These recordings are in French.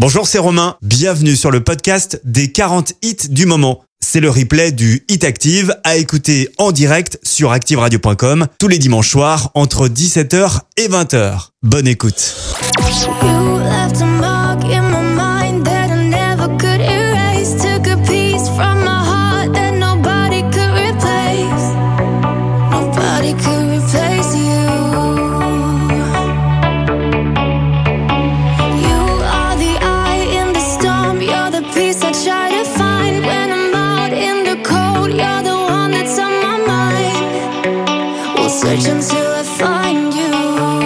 Bonjour, c'est Romain. Bienvenue sur le podcast des 40 hits du moment. C'est le replay du Hit Active à écouter en direct sur activeradio.com tous les dimanches soirs entre 17h et 20h. Bonne écoute. Search until I find you.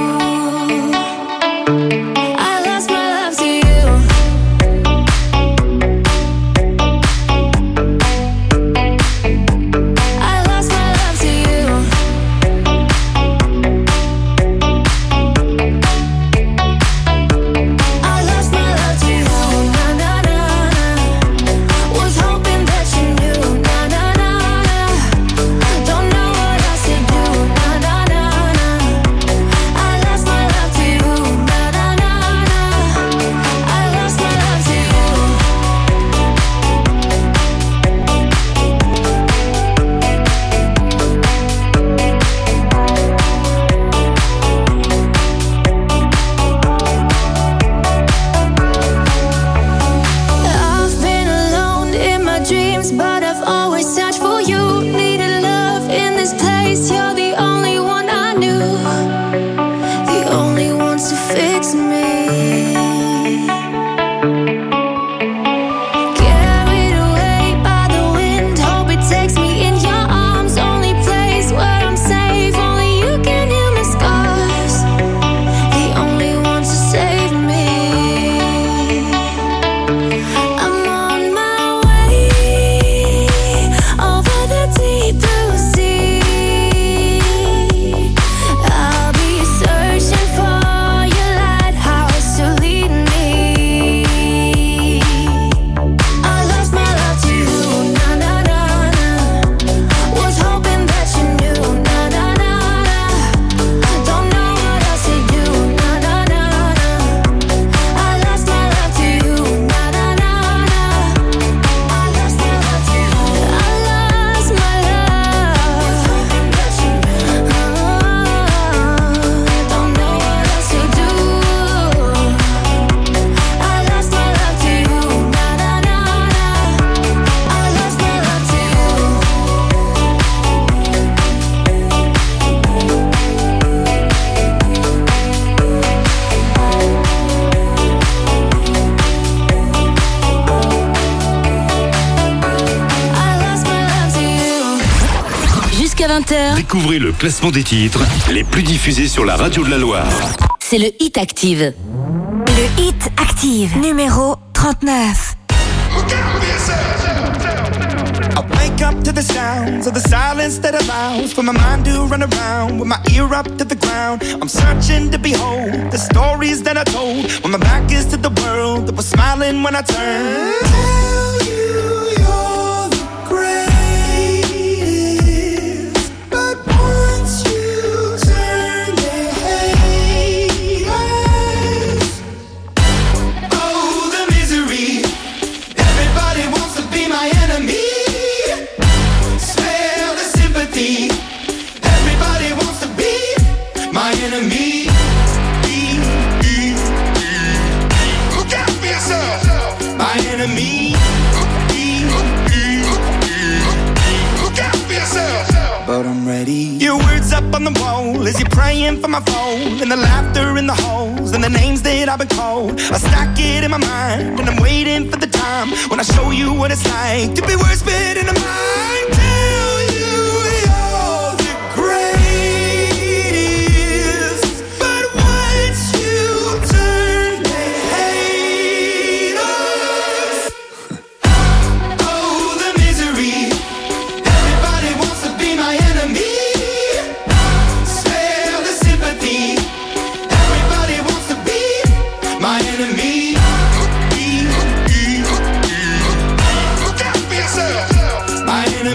I lost my love to you. I lost my love to you. I lost my love to you. Na na na na. Was hoping that you knew. Na na na na. Don't know what else to do. But I've always searched for you. Needed love in this place. You're the only one I knew, the only one to fix me. Carried away by the wind. Hope it takes me in your arms. Only place where I'm safe. Only you can heal my scars. The only one to save me. I'm on my way. Over the deep blue sea, I'll be searching for your lighthouse to lead me. I lost my love to you, na na na na. Was hoping that you knew, na na na na. Don't know what else to do, na na na na. I lost my love to you, na na na na. I lost my love to you. I lost my love. Hoping that you knew. Don't know what else to do. I lost my love to you. Na na na na. I lost my love to you. I lost my love to you. Jusqu'à 20h, Découvrez le classement des titres les plus diffusés sur la radio de la Loire. c'est le Hit Active. Le Hit Active, numéro 39. I wake up to the sounds of the silence that allows for my mind to run around with my ear up to the ground. I'm searching to behold the stories that I told when my back is to the world that was smiling when I turned. Tell you you're the greatest, but once you turn they hate us. Oh, the misery. Everybody wants to be my enemy. Smell the sympathy. Everybody wants to be my enemy. Look out for yourself. My enemy. Look out for yourself. But I'm ready. Your words up on the wall as you're praying for my phone, and the laughter in the halls and the names that I've been called. I stack it in my mind and I'm waiting for the time when I show you what it's like to be worse fit in a mind. Tell you you're the greatest, but once you turn they hate us. Oh, the misery. Everybody wants to be my enemy. Spare the sympathy. Everybody wants to be my enemy. Look out for yourself. My enemy.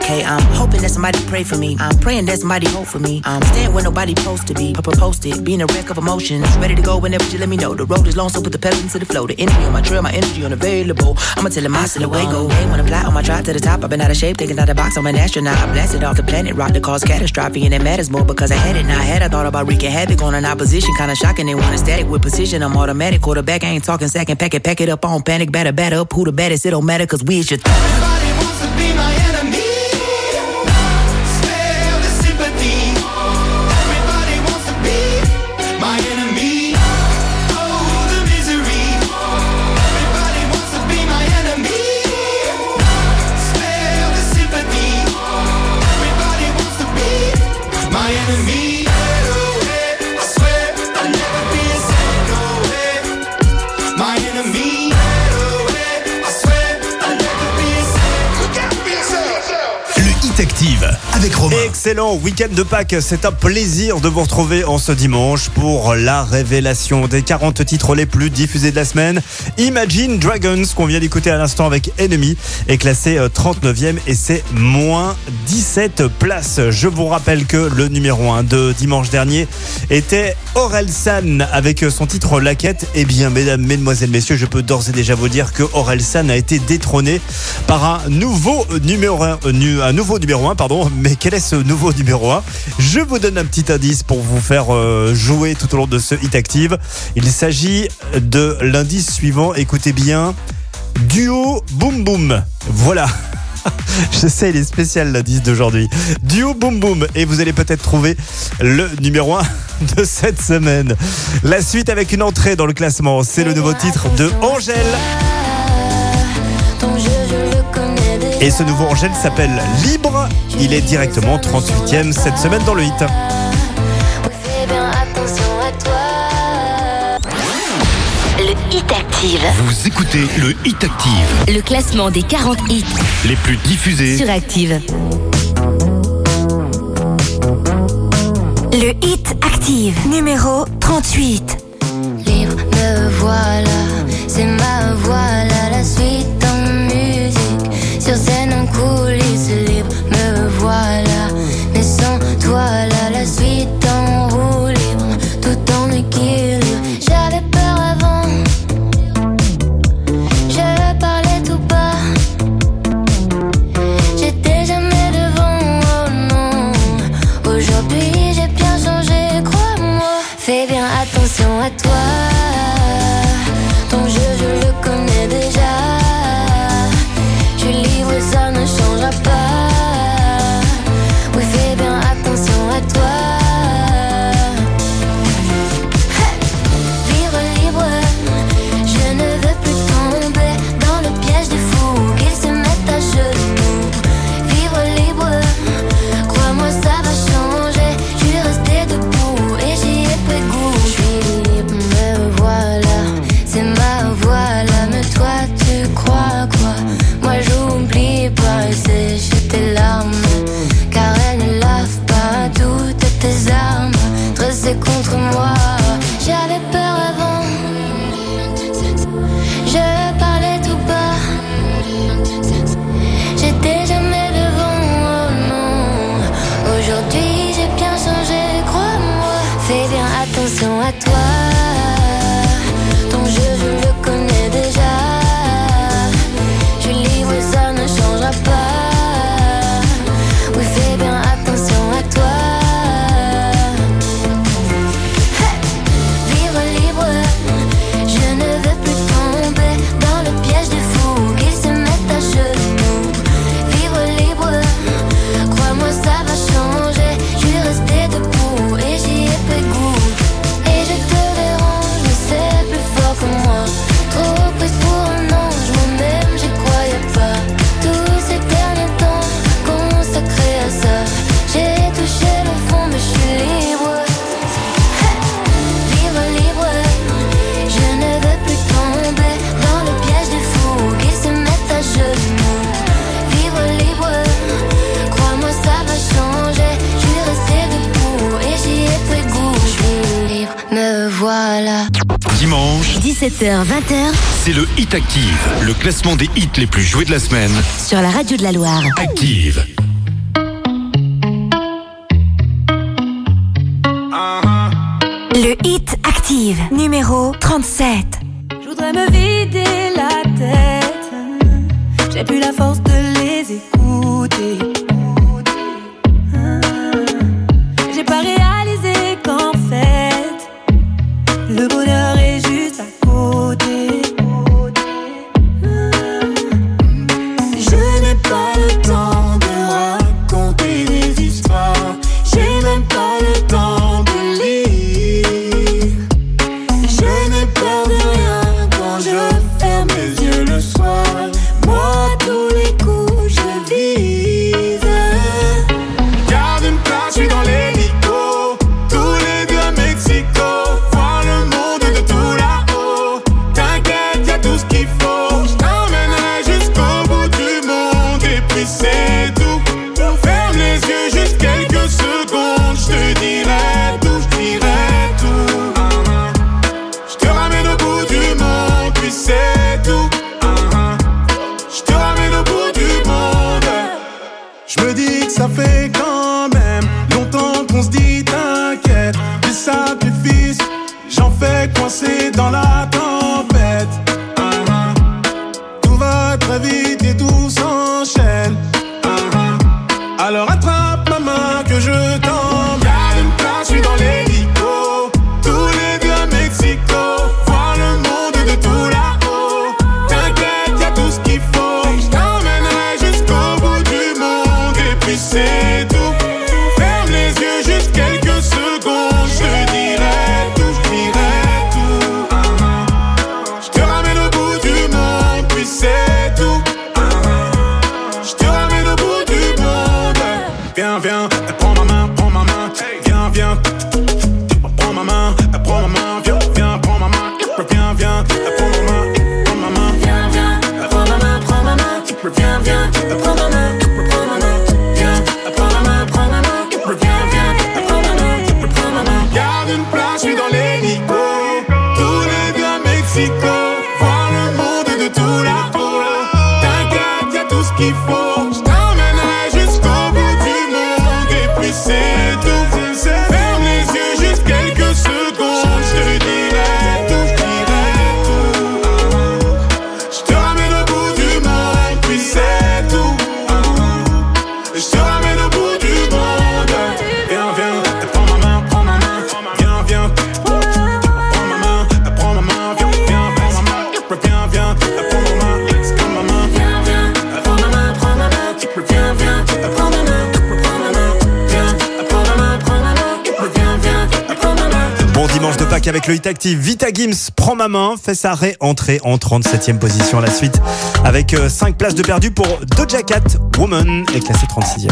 okay. I'm hoping that somebody pray for me. I'm praying that somebody hope for me. I'm staying where nobody supposed to be. Posted, being a wreck of emotions. Ready to go whenever you let me know. The road is long, so put the pedal into the flow. The energy on my trail, my energy unavailable. I'ma tell him my silhouette go. Hey, when I fly on my drive to the top, I've been out of shape, thinking out the box. I'm an astronaut. I blasted off the planet, rock that cause catastrophe, and it matters more because I had it. Now I had. I thought about wreaking havoc on an opposition, kinda shocking. They want a static with precision. I'm automatic, quarterback. I ain't talking second. Pack it up on panic, batter up. Who the baddest? It don't matter, cause we is your Everybody wants to be my enemy. Spare the sympathy. Everybody wants to be my enemy. Oh, the misery. Everybody wants to be my enemy. Spare the sympathy. Everybody wants to be my enemy. I swear I'll never be a saint, no way. My enemy. Active avec Romain. Excellent week-end de Pâques, c'est un plaisir de vous retrouver en ce dimanche pour la révélation des 40 titres les plus diffusés de la semaine. Imagine Dragons, qu'on vient d'écouter à l'instant avec Enemy, est classé 39e et c'est moins 17 places. Je vous rappelle que le numéro 1 de dimanche dernier était Orelsan avec son titre La Quête. Eh bien, mesdames, mesdemoiselles, messieurs, je peux d'ores et déjà vous dire que Orelsan a été détrôné par un nouveau numéro 1, pardon. Mais quel est ce nouveau numéro 1 ? Je vous donne un petit indice pour vous faire jouer tout au long de ce Hit Active. Il s'agit de l'indice suivant. Écoutez bien. Duo Boom Boom. Voilà. Je sais, il est spécial l'indice d'aujourd'hui. Duo Boom Boom. Et vous allez peut-être trouver le numéro 1 de cette semaine. La suite avec une entrée dans le classement. C'est le nouveau titre de Angèle. Et ce nouveau Angèle s'appelle Libre. Il est directement 38e cette semaine dans le hit. Le Hit Active. Vous écoutez le Hit Active. Le classement des 40 hits Les plus diffusés sur Active. Le Hit Active, numéro 38. Libre, me voilà, c'est ma voilà, la suite en musique. Sur scène en coulisses, libre, me voilà. Mais sans toi, là, la suite en roue libre, tout en équilibre. J'avais peur avant, je parlais tout bas. J'étais jamais devant, oh non. Aujourd'hui, j'ai bien changé, crois-moi. Fais bien attention à toi. Ton jeu, je le connais déjà. Je suis libre et ça ne changera pas. Oui, fais bien attention à toi. Hey! Vivre libre, je ne veux plus tomber dans le piège des fous qu'ils se mettent à genoux. Vivre libre, crois-moi ça va changer. Je suis restée debout et j'y ai pris goût. Je suis libre, me voilà, c'est ma voix là. Mais toi tu crois quoi? Moi j'oublie pas et sécher tes larmes, car elles ne lavent pas toutes tes armes dressées contre moi. J'avais peur avant, je parlais tout bas. J'étais jamais devant, oh non. Aujourd'hui j'ai bien changé, crois-moi. Fais bien attention à toi. Ton jeu je le connais déjà. Je suis libre et ça ne changera pas. Oui, fais bien attention à toi. Hey! Vivre libre, je ne veux plus tomber dans le piège des fous qu'ils se mettent à genoux. Vivre libre, crois-moi ça va changer. Je suis restée debout et j'y ai pris goût. Et je te dérange, mais c'est plus fort que moi. Trop prise pour un ange, moi-même j'y croyais pas. Tous ces derniers temps consacrés à ça, j'ai touché le fond mais je suis libre. Hey! Vivre libre, je ne veux plus tomber dans le piège des fous qu'ils se mettent à genoux. Vivre libre, crois-moi ça va changer. Je suis restée debout et j'y ai pris goût. Je suis libre, me voilà. Dimanche, 17h-20h c'est le Hit Active, le classement des hits les plus joués de la semaine. sur la radio de la Loire. Active. Le Hit Active, numéro 37. Je voudrais me vider la tête. J'ai plus la force de les écouter. J'ai pas réalisé qu'en fait le bonheur est juste à côté. Je n'ai pas le temps de raconter des histoires. J'ai même pas le temps de lire. Je n'ai peur de rien quand je ferme les yeux le soir. Moi, tous les coups, je vise. Garde une place, je suis dans l'hélico. Tous les deux à Mexico. Voir le monde de tout là-haut. T'inquiète, y'a tout ce qu'il faut. Je t'emmènerai jusqu'au bout du monde. Et puis c'est tout. Ferme les yeux juste quelques secondes. Je te dirai tout, je dirai tout. Je te ramène au bout du monde. Puis c'est tout. Je te ramène au bout du monde. Je me dis que ça fait quand même longtemps qu'on se dit t'inquiète. Des sacrifices, j'en fais coincer dans la tempête. Tout va très vite et tout s'enchaîne. Alors attrape ma main que je t'emmène. Garde une place, je suis dans l'hélico. Tous les deux à Mexico. Voir le monde de tout là-haut. T'inquiète, y'a tout ce qu'il faut. Je t'emmènerai jusqu'au bout du monde. Et puis c'est tout. Ferme les yeux juste quelques secondes. Je te dirai tout, je dirai tout. Je te ramène au bout du monde. Puis c'est tout. Je te ramène au bout du monde. Viens, viens, prends ma main, prends ma main. Viens, viens, prends ma main, prends ma main. Viens, viens, prends ma main. Viens, viens, prends ma main, prends ma main. Viens, viens, prends ma main, prends ma main. Viens, viens, prends ma main, prends ma main. Viens, prends ma main, prends ma main. Viens, viens, prends ma main, prends ma main. Garde une place, je suis dans l'hélico. Tous les deux à Mexico. Voir le monde de tout là-haut. T'inquiète, y'a tout ce qu'il faut. Je t'emmènerai jusqu'au bout du monde. Et puis c'est tout. Ferme les yeux juste quelques secondes. Je te dirai tout, je dirai tout. Je te ramène au bout du monde. Puis c'est tout. Je te ramène au bout du monde. Viens, viens, prends ma main, prends ma main. Viens, viens, prends ma main, prends ma main. Viens, viens, prends ma main. Viens, viens, prends ma main. Prends ma main. Viens, viens, prends ma main, prends ma main. Viens, viens, prends ma main, prends ma main. Viens, prends ma main, prends ma main. Viens, viens, prends ma main. Bon dimanche de Pâques avec le Hit Active. Vita Gims, prends ma main, fait sa réentrée en 37e position à la suite. Avec 5 places de perdu pour Doja Cat, Woman est classé 36e.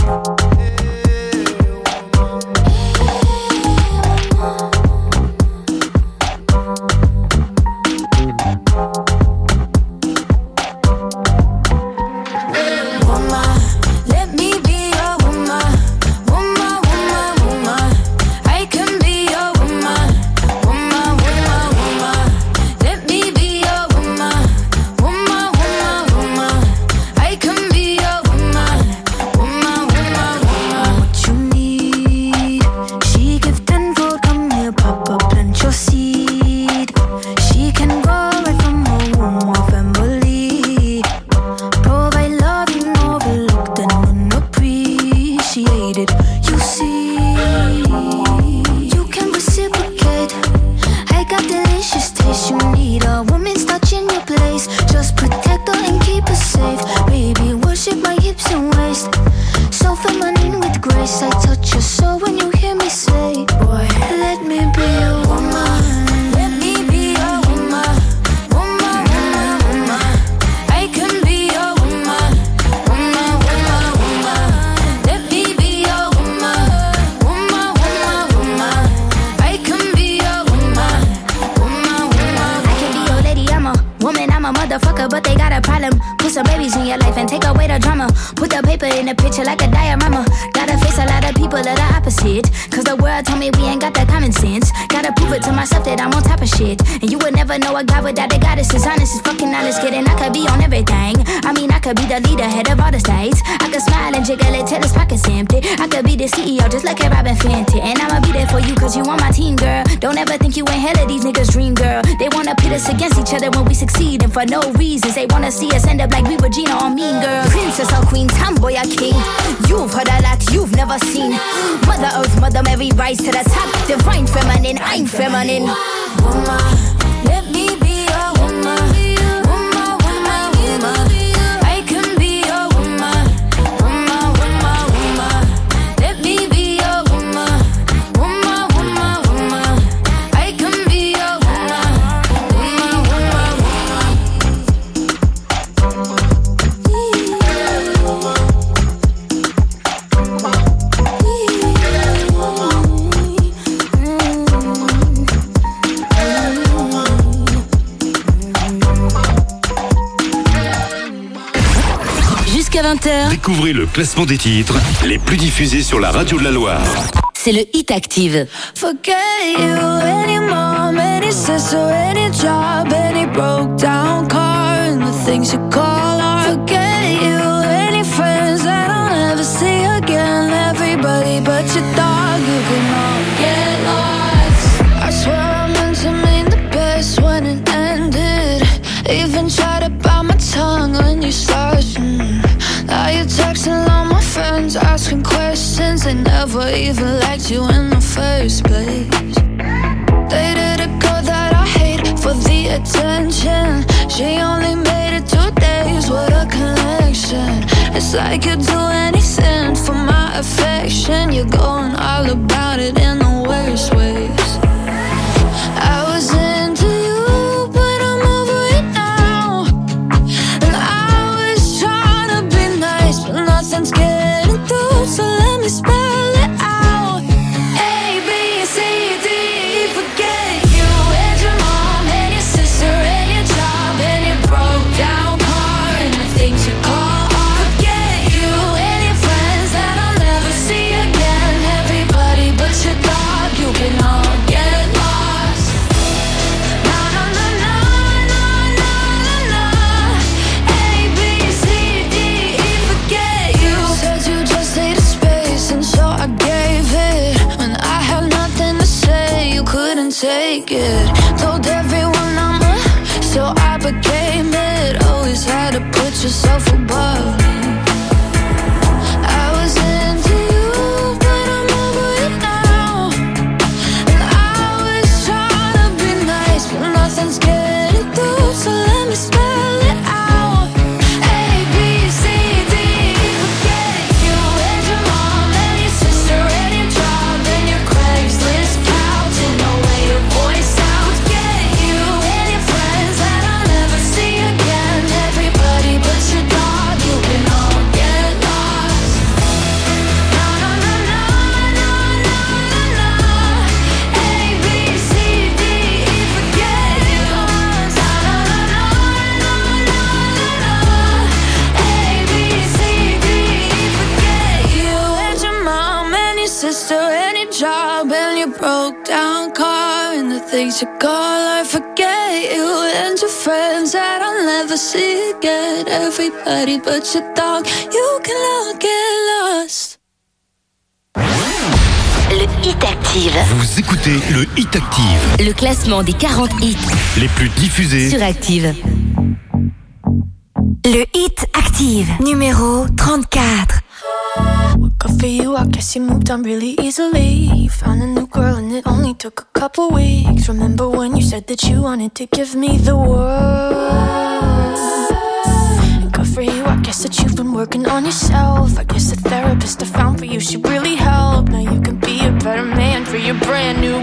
Woman, let me be your woman. Woman, woman, woman. I can be your woman. Woman, woman, woman. Let me be your woman. Woman, woman, woman. I can be your woman. Woman, woman, woman. What you need? She give tenfold. Come here, Papa, plant your seed. She can go right from her womb or family. Provide love you overlooked and unappreciated. You see, you can reciprocate. I got delicious taste. You need a woman's touch in your place. Just protect her and keep her safe. Baby, worship my hips and waist. So feminine with grace. I touch your soul when you hear me say, boy, let me be your woman. Let me be your woman. Woman, woman, woman. I can be your woman. Woman, woman, woman. Let me be your woman. Woman, woman, woman. I can be your woman. Woman, woman. I can be your lady, I'm a woman, I'm a motherfucker, but they got a problem. Put some babies in your life and take away the drama. Put the paper in the picture like a diorama. Gotta face a lot of people that are opposite. Cause the world told me we ain't got that common sense. Gotta prove it to myself that I'm on top of shit. And you would never know a guy without a goddess. As honest as fucking honest, kidding. I could be on everything. I mean, I could be the leader, head of all the states. I could smile and jiggle it till his pockets empty. I could be the CEO just like a Robin Fenty. And I'ma be there for you cause you on my team, girl. girl. Don't ever think you ain't hell of these niggas' dream, girl. They wanna pit us against each other when we succeed, and for no reasons. They wanna see us end up like we Regina or Mean Girl. Princess or queen, tomboy or king. You've heard a lot you've never seen. Mother Earth, Mother Mary, rise to the top. Divine feminine, I'm feminine. Woman, let me be your woman. Woman, woman, woman. I can be your woman. Woman, woman, woman. Let me be your woman. Woman, woman, woman. I can be your woman. Woman, woman, Jusqu'à 20h, Découvrez le classement des titres les plus diffusés sur la radio de la Loire. c'est le Hit Active. forget you, any mom, any sister, any job, any broke down car, and the things you call art. Forget you, any friends that I'll never see again. Everybody but your dog, you can all get lost. I swear I meant to mean the best when it ended. Even tried to bite my tongue when you started. Now you're texting all my friends, asking questions. They never even liked you in the first place. Dated a girl that I hate for the attention. She only made it 2 days, what a connection. It's like you'd do anything for my affection. You're going all about it in the worst ways. I was into you, but I'm over it now. And I was trying to be nice, but nothing's getting through, so let me spell it out. A, B, C, D, E, forget you. And your mom, and your sister, and your job, and your broke down car, and the things you call art. Forget you, and your friends that I'll never see again. Everybody but your dog, you can all get lost. Na na na na na na na na. A, B, C, D, E, forget you. Said you just needed space, and so I gave it. When I had nothing to say, you couldn't take it. Told everyone I'm a, so I became it. Always had to put yourself above me. I was into you, but I'm over it now. And I was trying to be nice, but nothing's getting through, so let me spell it out. A, B, C, D, E, forget you. And your mom, and your sister, and your job, and your Craigslist couch, and the way your voice sounds. Get you, and your friends that I'll never see again. Everybody but your dog, you can all get lost. Na na na na na na na na. A, B, C, D, E, forget you. Na na na na na na na. A, B, C, D, E, forget you. And your mom, and your sister, and your job, and your broke down car, and the things you call I forget you. And your friends that I'll never see again. Everybody but your dog, you can all get lost. Le Hit Active, Vous écoutez le Hit Active, le classement des 40 hits les plus diffusés. sur Active. Le Hit Active, numéro 34. Good for you, I guess you moved on really easily. You found a new girl and it only took a couple weeks. Remember when you said that you wanted to give me the world? Good for you, I guess that you've been working on yourself. I guess the therapist I found for you should really help. Now you can be a better man for your brand new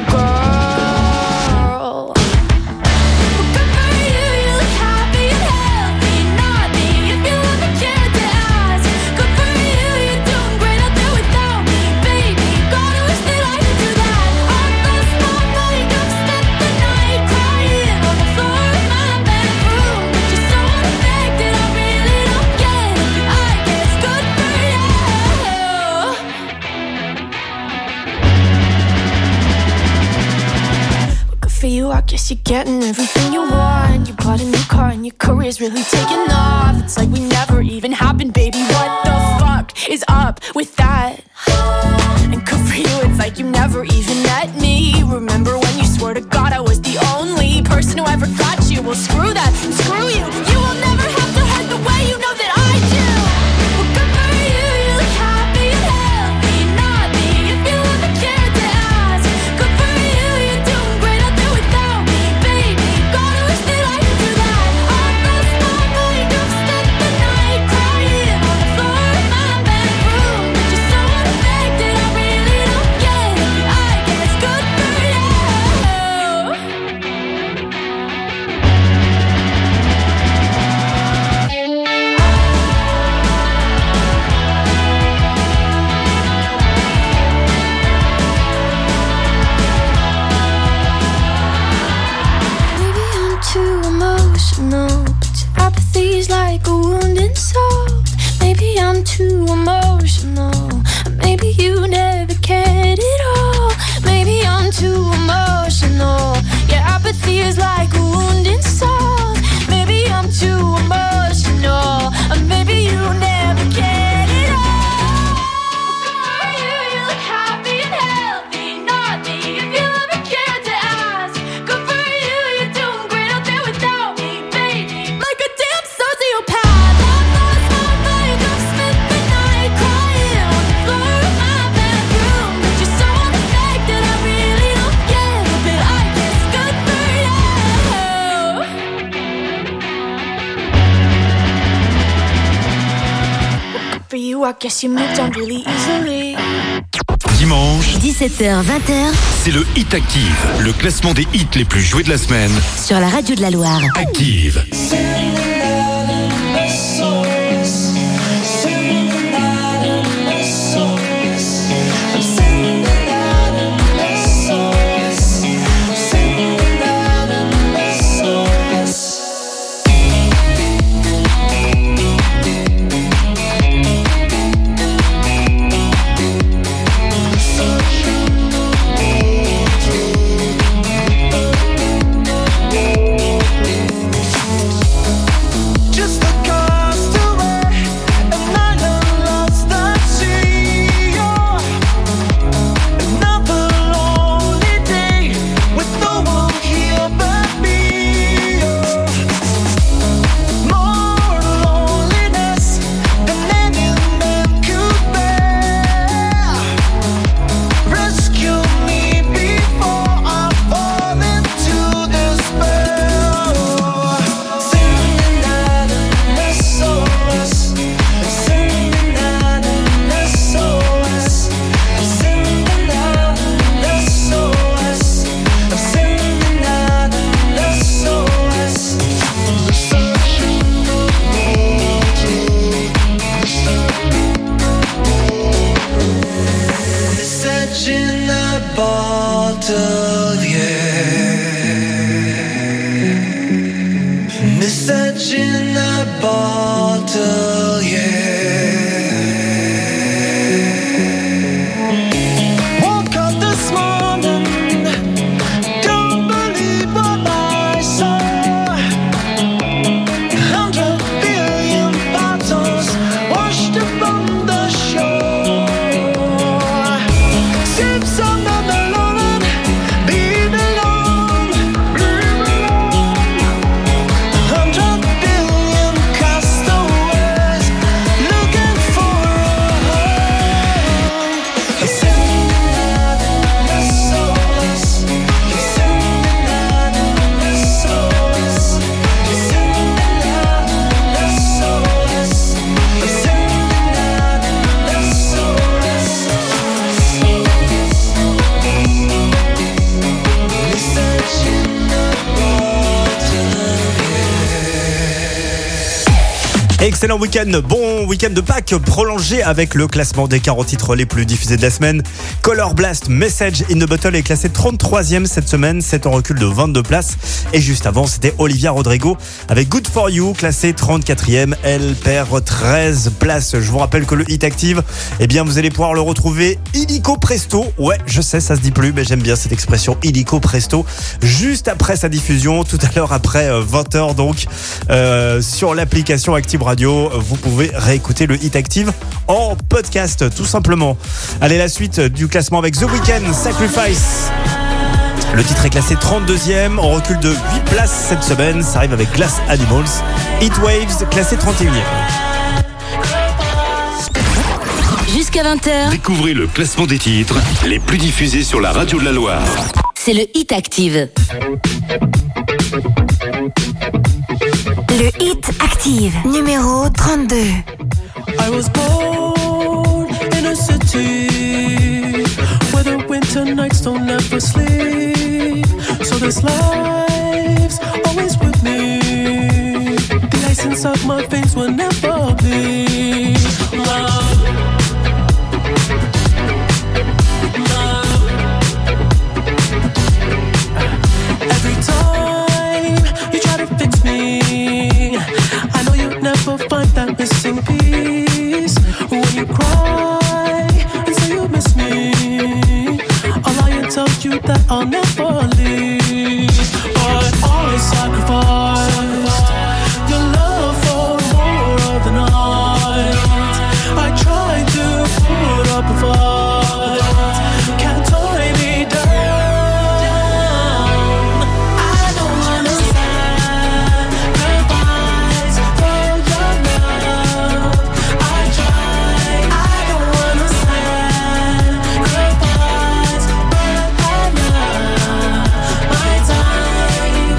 girl. Good for you, you look happy and healthy. Not me, if you ever care to ask. Good for you, you're doing great out there without me, baby. God, I wish that I could do that. I lost my mind, I've spent the night crying on the floor in my bedroom. But you're so unaffected, I really don't get it. I guess good for you. Good for you, I guess you're getting everything you want. You bought a new car and your career's really taking off. It's like we never even happened, baby. What the fuck is up with that? And good for you, it's like you never even met me. Remember when too emotional. Maybe you never cared at all. Maybe I'm too emotional. Yeah, apathy is like a wounded soul. Maybe I'm too emotional. Or maybe you never cared at all. You look happy and healthy, not me. If you ever cared to ask, good for you, you're doing great out there without me, baby. Like a damn sociopath. I've lost my mind, I've spent the night crying on the floor of my bedroom. But you're so unaffected, I really don't get it. But I guess good for you. For you, I guess you moved on really easily. Dimanche, 17h-20h c'est le Hit Active, le classement des hits les plus joués de la semaine. sur la radio de la Loire. Active. Excellent week-end, bon week-end de Pâques prolongé avec le classement des 40 titres les plus diffusés de la semaine. Color Blast, Message in the Bottle est classé 33e cette semaine, c'est en recul de 22 places. Et juste avant, c'était Olivia Rodrigo avec Good For You, classé 34e. Elle perd 13 places. Je vous rappelle que le Hit Active, eh bien, vous allez pouvoir le retrouver illico presto. Ouais, je sais, ça se dit plus, mais j'aime bien cette expression illico presto. Juste après sa diffusion, tout à l'heure après 20h donc, sur l'application Active Radio, vous pouvez réécouter le Hit Active en podcast, tout simplement. Allez, la suite du classement avec The Weeknd, Sacrifice. Le titre est classé 32e, en recul de 8 places cette semaine. Ça arrive avec Glass Animals. Heatwaves, classé 31e. Jusqu'à 20h, Découvrez le classement des titres les plus diffusés sur la radio de la Loire. c'est le Hit Active. Le Hit Active, numéro 32. I was born in a city where the winter nights don't ever sleep. So this life's always with me. The ice inside my veins will never bleed. Love. Love. Every time you try to fix me, I know you'll never find that missing piece. never leave, but always sacrificed your love for more of the night. I tried to put up a fight, can't tie me down. I don't wanna sacrifice for your love. I try, I don't wanna sacrifice, but I love my time.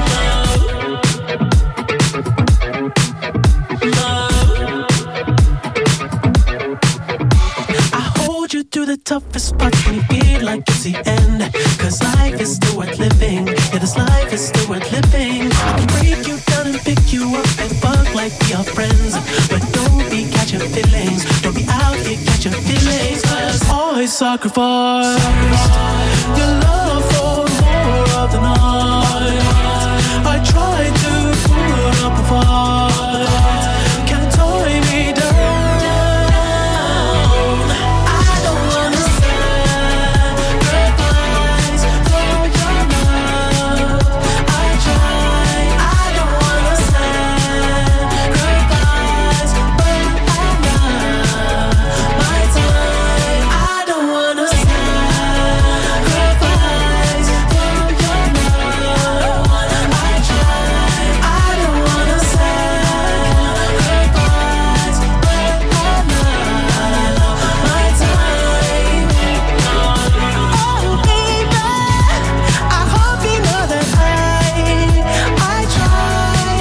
I hold you through the toughest parts when you feel like it's the end. Cause life is still worth living. Yeah, this life is still worth living. I can break you down and pick you up and fuck like we are friends. But don't be catching feelings. Don't be out here catching feelings. Cause always sacrifice your love for more of the night. I tried to put up a fight, can't tie me down. I don't wanna sacrifice for your love. I try, I don't wanna sacrifice, but I love my time. I don't wanna sacrifice for your love. I try, I don't wanna sacrifice, but I love my time. Oh baby, I hope you know that I try.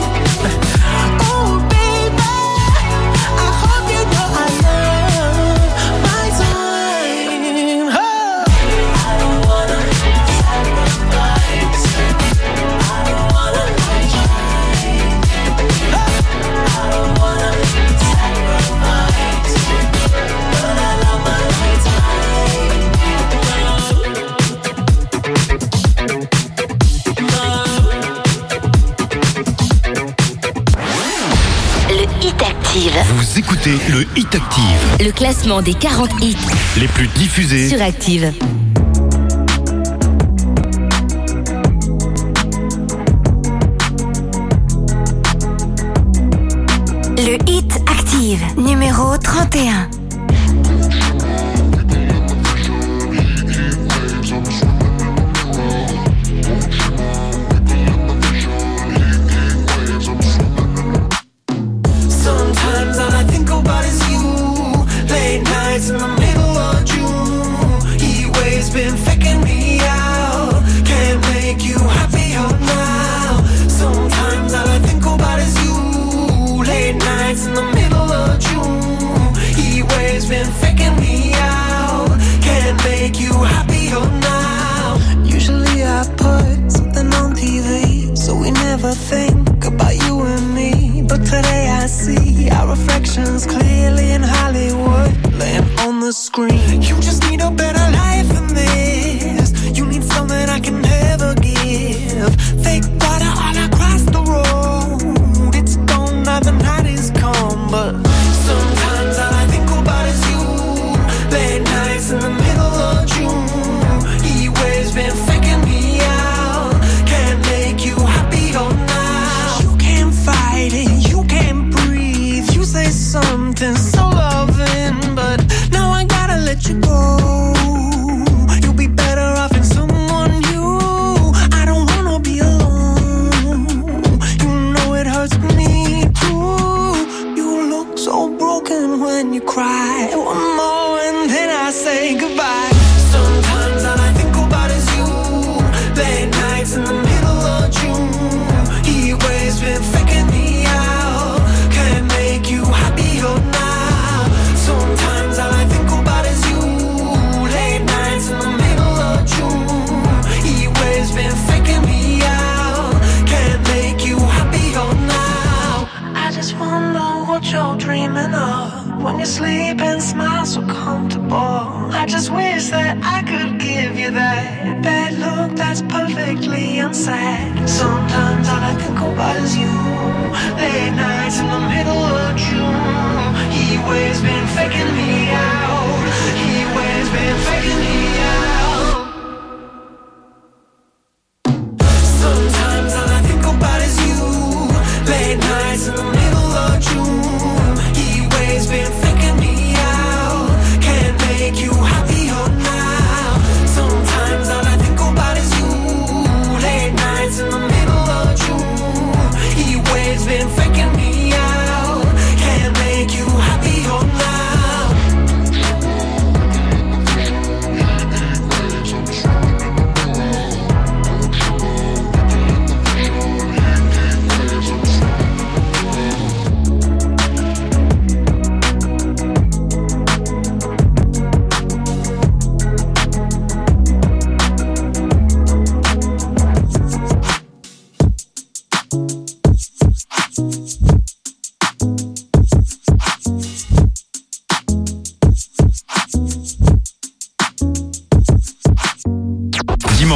Oh baby, I hope you know I love my time. Oh. I don't wanna sacrifice. I don't wanna try. I don't wanna sacrifice, but I love my Le Hit Active. Vous écoutez le Hit Active, Le classement des 40 hits les plus diffusés. sur Active. Le Hit Active, numéro 31. Sometimes all I think about is you. Late nights in the middle of June. Heat waves been faking me out. Can't make you happier now. Sometimes all I think about is you. Late nights in the middle of June. Heat waves been faking me out. Can't make you happier now. Usually I put something on TV, so we never think about you and me. But today I see our reflections clearly in Hollywood, laying on the screen. You just need a better life than this. You need something I can never give. Fake water all across the road. It's gone now, the night is come. But sometimes all I think about is you. Late nights in the middle of June. Heat waves been faking me out. Can't make you happier now. You can't fight it, you can't breathe. You say something so loving, but now I gotta let you go. You'll be better off in someone new. I don't wanna be alone. You know it hurts me too. You look so broken when you cry. One more and then I say goodbye. Sometimes all I think about is you. Late nights in the middle of June. Heat waves been faking me out. Can't make you happier now. Sometimes all I think about is you. Late nights in the middle of June. Heat waves been faking me out. Can't make you happier now. I just wonder what you're dreaming of when you sleep and smile so comfortable. I just wish that I could give you that look that's perfectly unsaid. Sometimes all I think about is you. Late nights in the middle of June. Heat waves been faking me out. Heat waves been faking me out.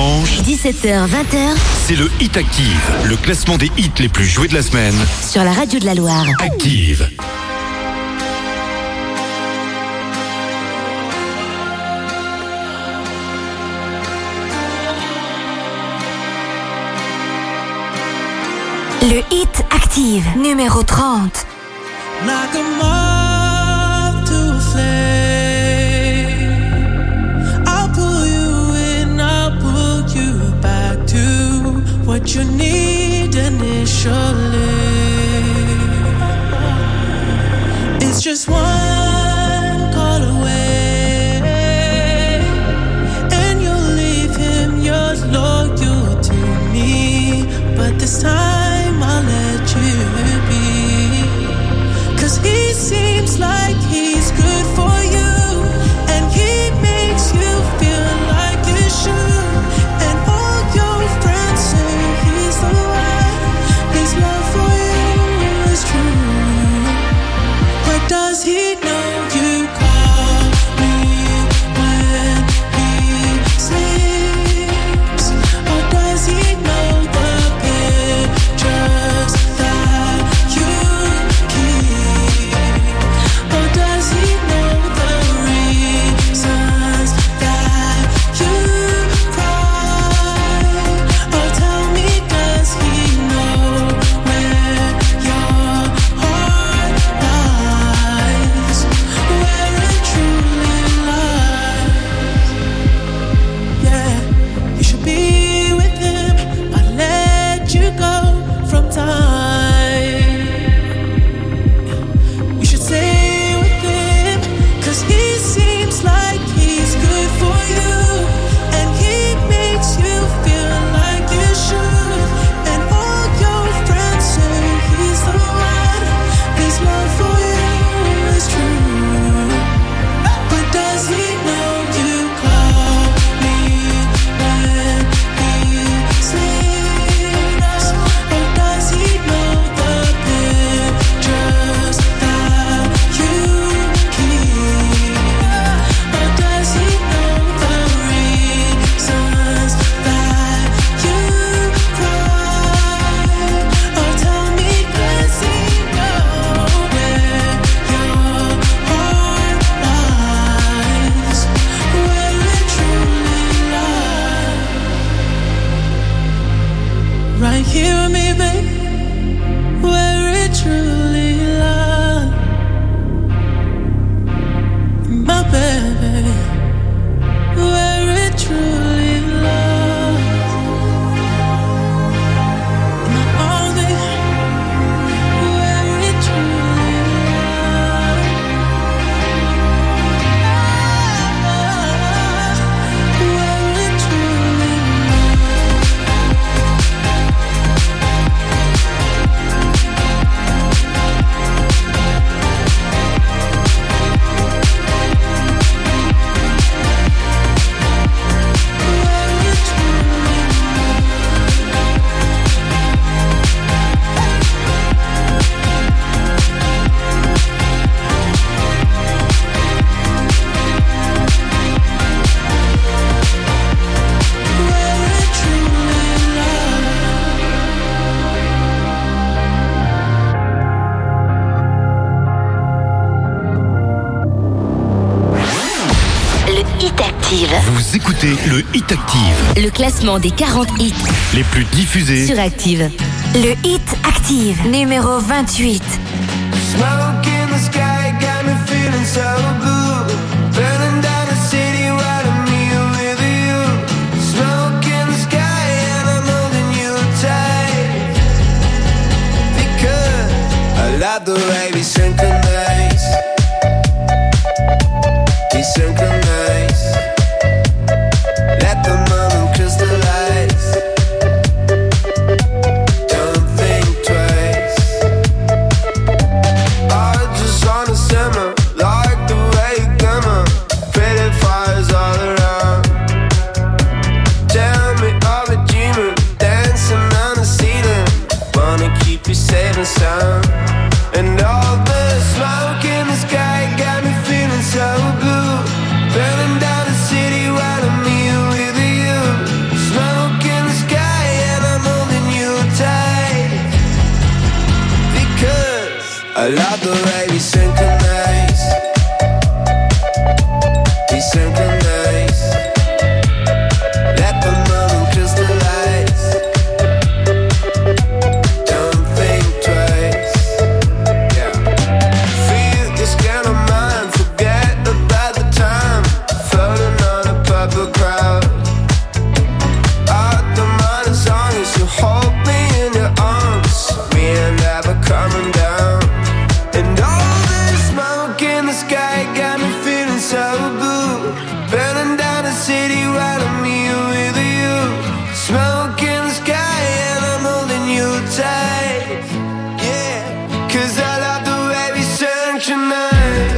dimanche, 17h-20h c'est le Hit Active, le classement des hits les plus joués de la semaine. sur la radio de la Loire. Active. Le Hit Active, numéro 30. Like a moth to a flame, I'll pull you in, I'll pull you back to what you need initially. It's just one call away, and you'll leave him, you're loyal to me, but this time I'll let you be. 'Cause he seems like he's good for you, and he makes you feel like you should. And all your friends say he's the one, his love for you is true. But does he know you call me when he sleeps? Or does he know the pictures that you keep? Or does he know the reasons that you cry? Or tell me, does he know where your heart lies? Where it truly lies? Yeah, you should be with him. I let you go from time. You should stay with him, 'cause he seems like he's good for you, and he makes you feel like you should. And all your friends say he's the one, his love for you is true. But does he know you call me when he sleeps? Or does he know the pictures that you keep? Or does he know the reasons that you cry? Or tell me, does he know where your heart lies? Where it truly lies? Right here with me, babe, where it truly lies. My baby, where it truly lies. My only, where it truly lies. Where it truly Le Hit Active, Vous écoutez le Hit Active, le classement des 40 hits les plus diffusés. sur Active. Le Hit Active, numéro 28. Smoke in the sky got me feeling so good. Burning down the city, riding me with you. Smoke in the sky and I'm holding you tight. Because I love the way we synchronize. We synchronize. Let the moment crystallize. Don't think twice. I just wanna simmer like the I love the way we synchronize. We synchronize. Let the moment crystallize. Don't think twice. Yeah. Feel this kind of mind. Forget about the time. Floating on a purple crowd. The mind is on you, so hold me in your arms. We ain't never coming down. And all this smoke in the sky got me feeling so good. Burning down the city while I'm here with you. Smoke in the sky and I'm holding you tight. Yeah, 'cause I love the way we synchronize.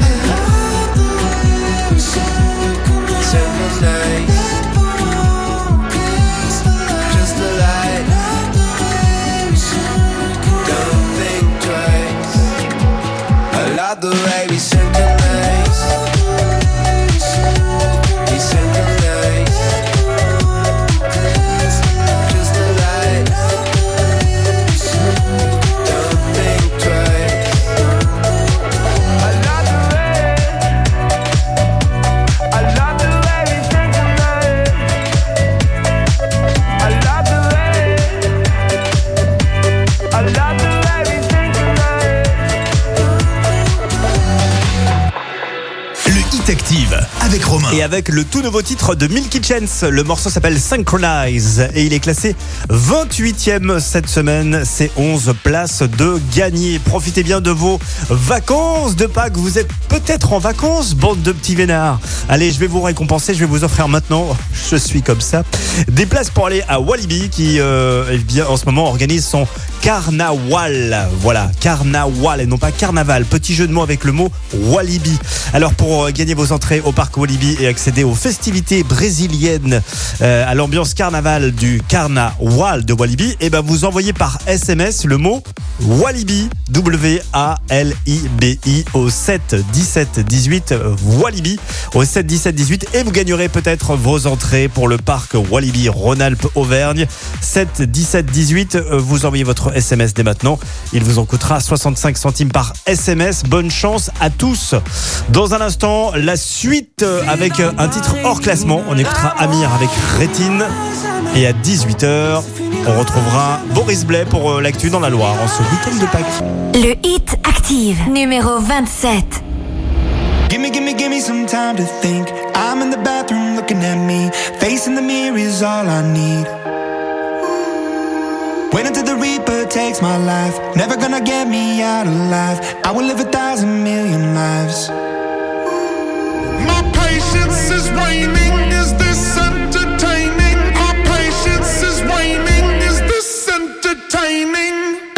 Synchronize. The way we synchronize. We synchronize. Just the light. Don't think twice. I love the way. I love the way we synchronize. I love the way. I love the way we synchronize. Active avec Romain. Et avec le tout nouveau titre de Milky Chance, le morceau s'appelle Synchronize et il est classé 28e cette semaine. C'est 11 places de gagner. Profitez bien de vos vacances de Pâques. Vous êtes peut-être en vacances, bande de petits vénards. Allez, je vais vous récompenser. Je vais vous offrir maintenant, je suis comme ça, des places pour aller à Walibi qui eh bien, en ce moment organise son Carnaval. Voilà, Carnaval et non pas Carnaval. Petit jeu de mots avec le mot Walibi. Alors pour gagner vos entrées au parc Walibi et accéder aux festivités brésiliennes, à l'ambiance carnaval du Carnaval de Walibi, et ben vous envoyez par SMS le mot Walibi, W-A-L-I-B-I au 7 17 18 Walibi au 7 17 18 et vous gagnerez peut-être vos entrées pour le parc Walibi Rhône-Alpes Auvergne. 7 17 18, vous envoyez votre SMS dès maintenant. Il vous en coûtera 65 centimes par SMS. Bonne chance à tous. Dans un instant, la suite avec un titre hors classement. On écoutera Amir avec Rétine. Et à 18h, on retrouvera Boris Blais pour l'actu dans la Loire en ce week-end de Pâques. Le Hit Active, numéro 27. Give me some time to think. I'm in the bathroom looking at me. Facing the mirror is all I need. Wait until the Reaper takes my life. Never gonna get me out alive. I will live 1,000 million lives. My patience is waning. Is this entertaining? My patience is waning. Is this entertaining?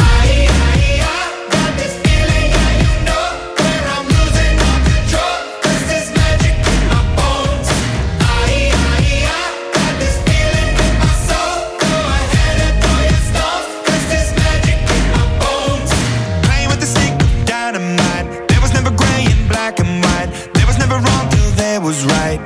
Was right.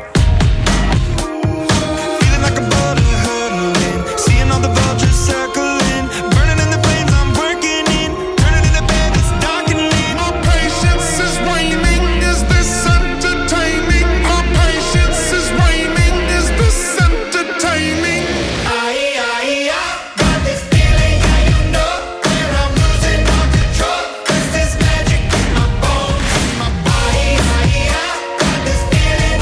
Feeling like a boulder hurtling, seeing all the vultures circling, burning in the flames I'm working in, turning in the bed that's darkening. My patience is waning. Is this entertaining? My patience is waning. Is this entertaining? I got this feeling, yeah, you know, where I'm losing all control. 'Cause there's magic in my bones, in my body. I got this feeling.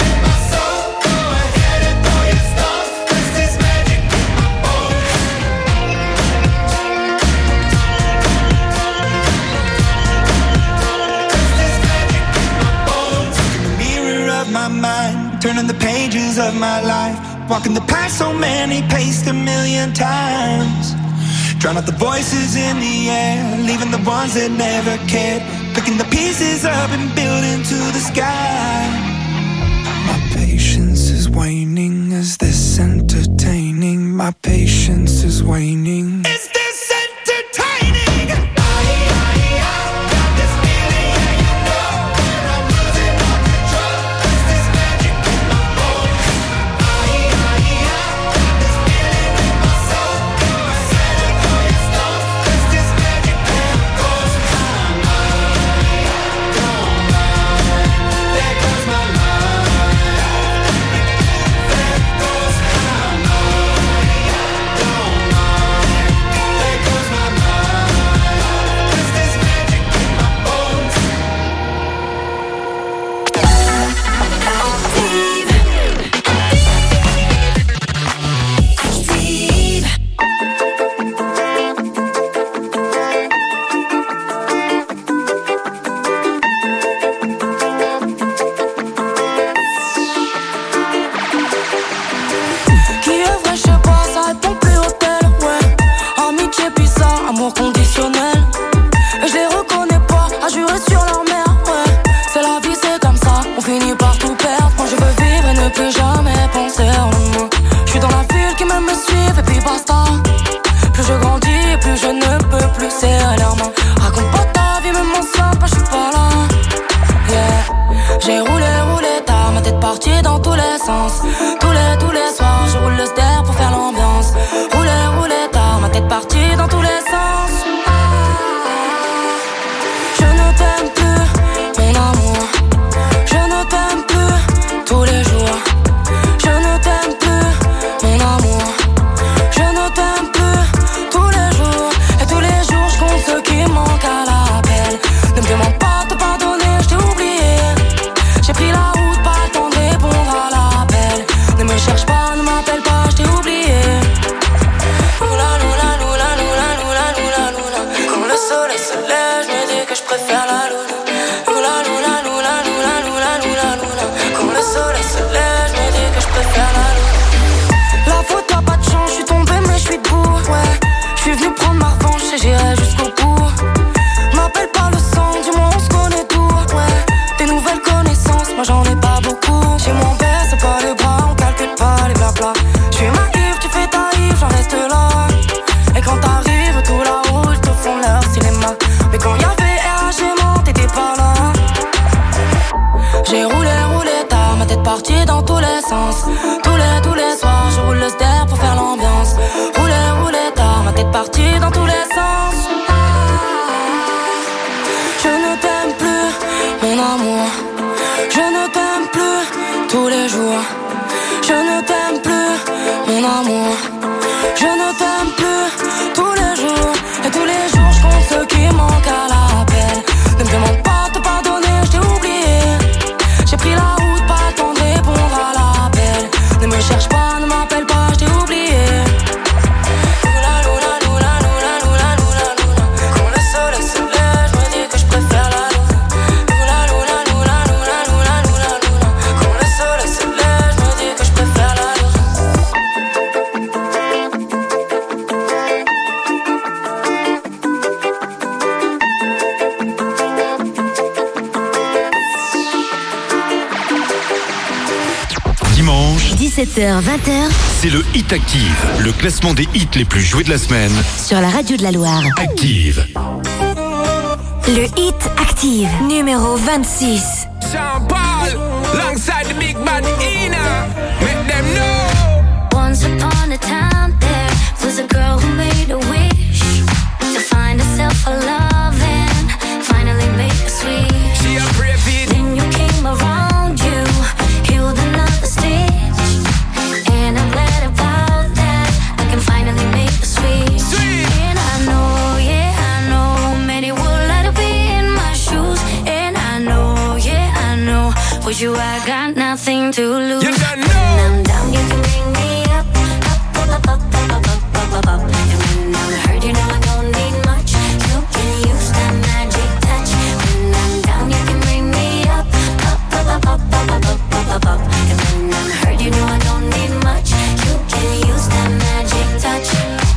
Turning the pages of my life, walking the path so many paced 1,000,000 times. Drown out the voices in the air, leaving the ones that never cared. Picking the pieces up and building to the sky. My patience is waning. Is this entertaining? My patience is waning. Is this entertaining? et puis basta. Plus je grandis, plus je ne peux plus serrer leurs mains. Raconte pas ta vie, même mon simple, je suis pas là. Yeah. J'ai roulé tard, ma tête partie dans tous les sens. Tous les soirs, je roule le ster pour faire l'ambiance. Roulé tard, ma tête partie dans tous les sens. Je ne t'aime plus, mon amour. Je ne t'aime plus, tous les jours. Je ne t'aime plus, mon amour. Je ne t'aime plus, tous les jours. Et tous les jours, je compte ceux qui manquent à l'appel. Ne me demande pas de pardonner, je t'ai oublié. J'ai pris la route, pas le temps de répondre à l'appel. Ne me cherche pas, ne m'appelle pas, je t'ai oublié. Loula, loula, loula, loula, loula, loula, loula. Quand le soleil se lève, je me dis que je préfère la luna. Loula, loula, loula, loula, loula, loula, loula. Quand le soleil se lève, je me dis que je préfère la luna. La faute, t'as pas de chance, je suis tombé mais je suis debout. Ouais, je suis venu prendre ma revanche et j'irai jusqu'au bout. M'appelle pas le sang, du moins on se connaît tout. Ouais, des nouvelles connaissances, moi j'en ai pas beaucoup. Chez moi on baisse pas les bras, on calcule pas les blabla. Je suis naïf, tu fais ta rive, j'en reste là. Et quand t'arrives, tout là-haut, ils te font leur cinéma. Mais quand y'avait RH, t'étais pas là. J'ai roulé tard, ma tête partie dans tous les sens. Tous les soirs, je roule le ster pour faire l'ambiance. Roulé tard, ma tête partie dans tous les sens. Je ne t'aime plus, mon amour. Je ne t'aime plus, tous les jours. Je ne t'aime plus, mon amour. Je ne t'aime plus, tous les jours. Et tous les jours, je compte ceux qui manquent à l'appel. Ne me demande pas de pardonner, je t'ai oublié. J'ai pris la route, pas le temps de répondre à l'appel. Ne me cherche pas, ne m'appelle pas, je t'ai oublié. Loula, loula, loula, loula, loula, loula, loula. Quand le soleil se lève, je me dis que je préfère la luna. Loula, loula, loula, loula, loula, loula, loula. Quand le soleil se lève, je me dis que je préfère la luna. Dimanche, 17h-20h c'est le Hit Active, le classement des hits les plus joués de la semaine. sur la radio de la Loire. Active. Le Hit Active, numéro 26. Sean Paul, alongside the big bad Ina. Make them know. Once upon a time, there was a girl who made a wish to find herself a love and finally make a switch. She a brave it. Then you came around, you healed another stitch, and I'm glad about that. I can finally make a switch. And I know, yeah, I know, many would like to be in my shoes. And I know, yeah, I know, with you I got nothing to lose. You don't know. When I'm down, you can bring me up, up, up, up, up, up, up, up, up. And when I'm hurt, you know I don't need much. You can use that magic touch. When I'm down, you can bring me up, up, up, up, up, up, up, up, up, up. And when I'm hurt, you know I don't need much. You can use that magic touch.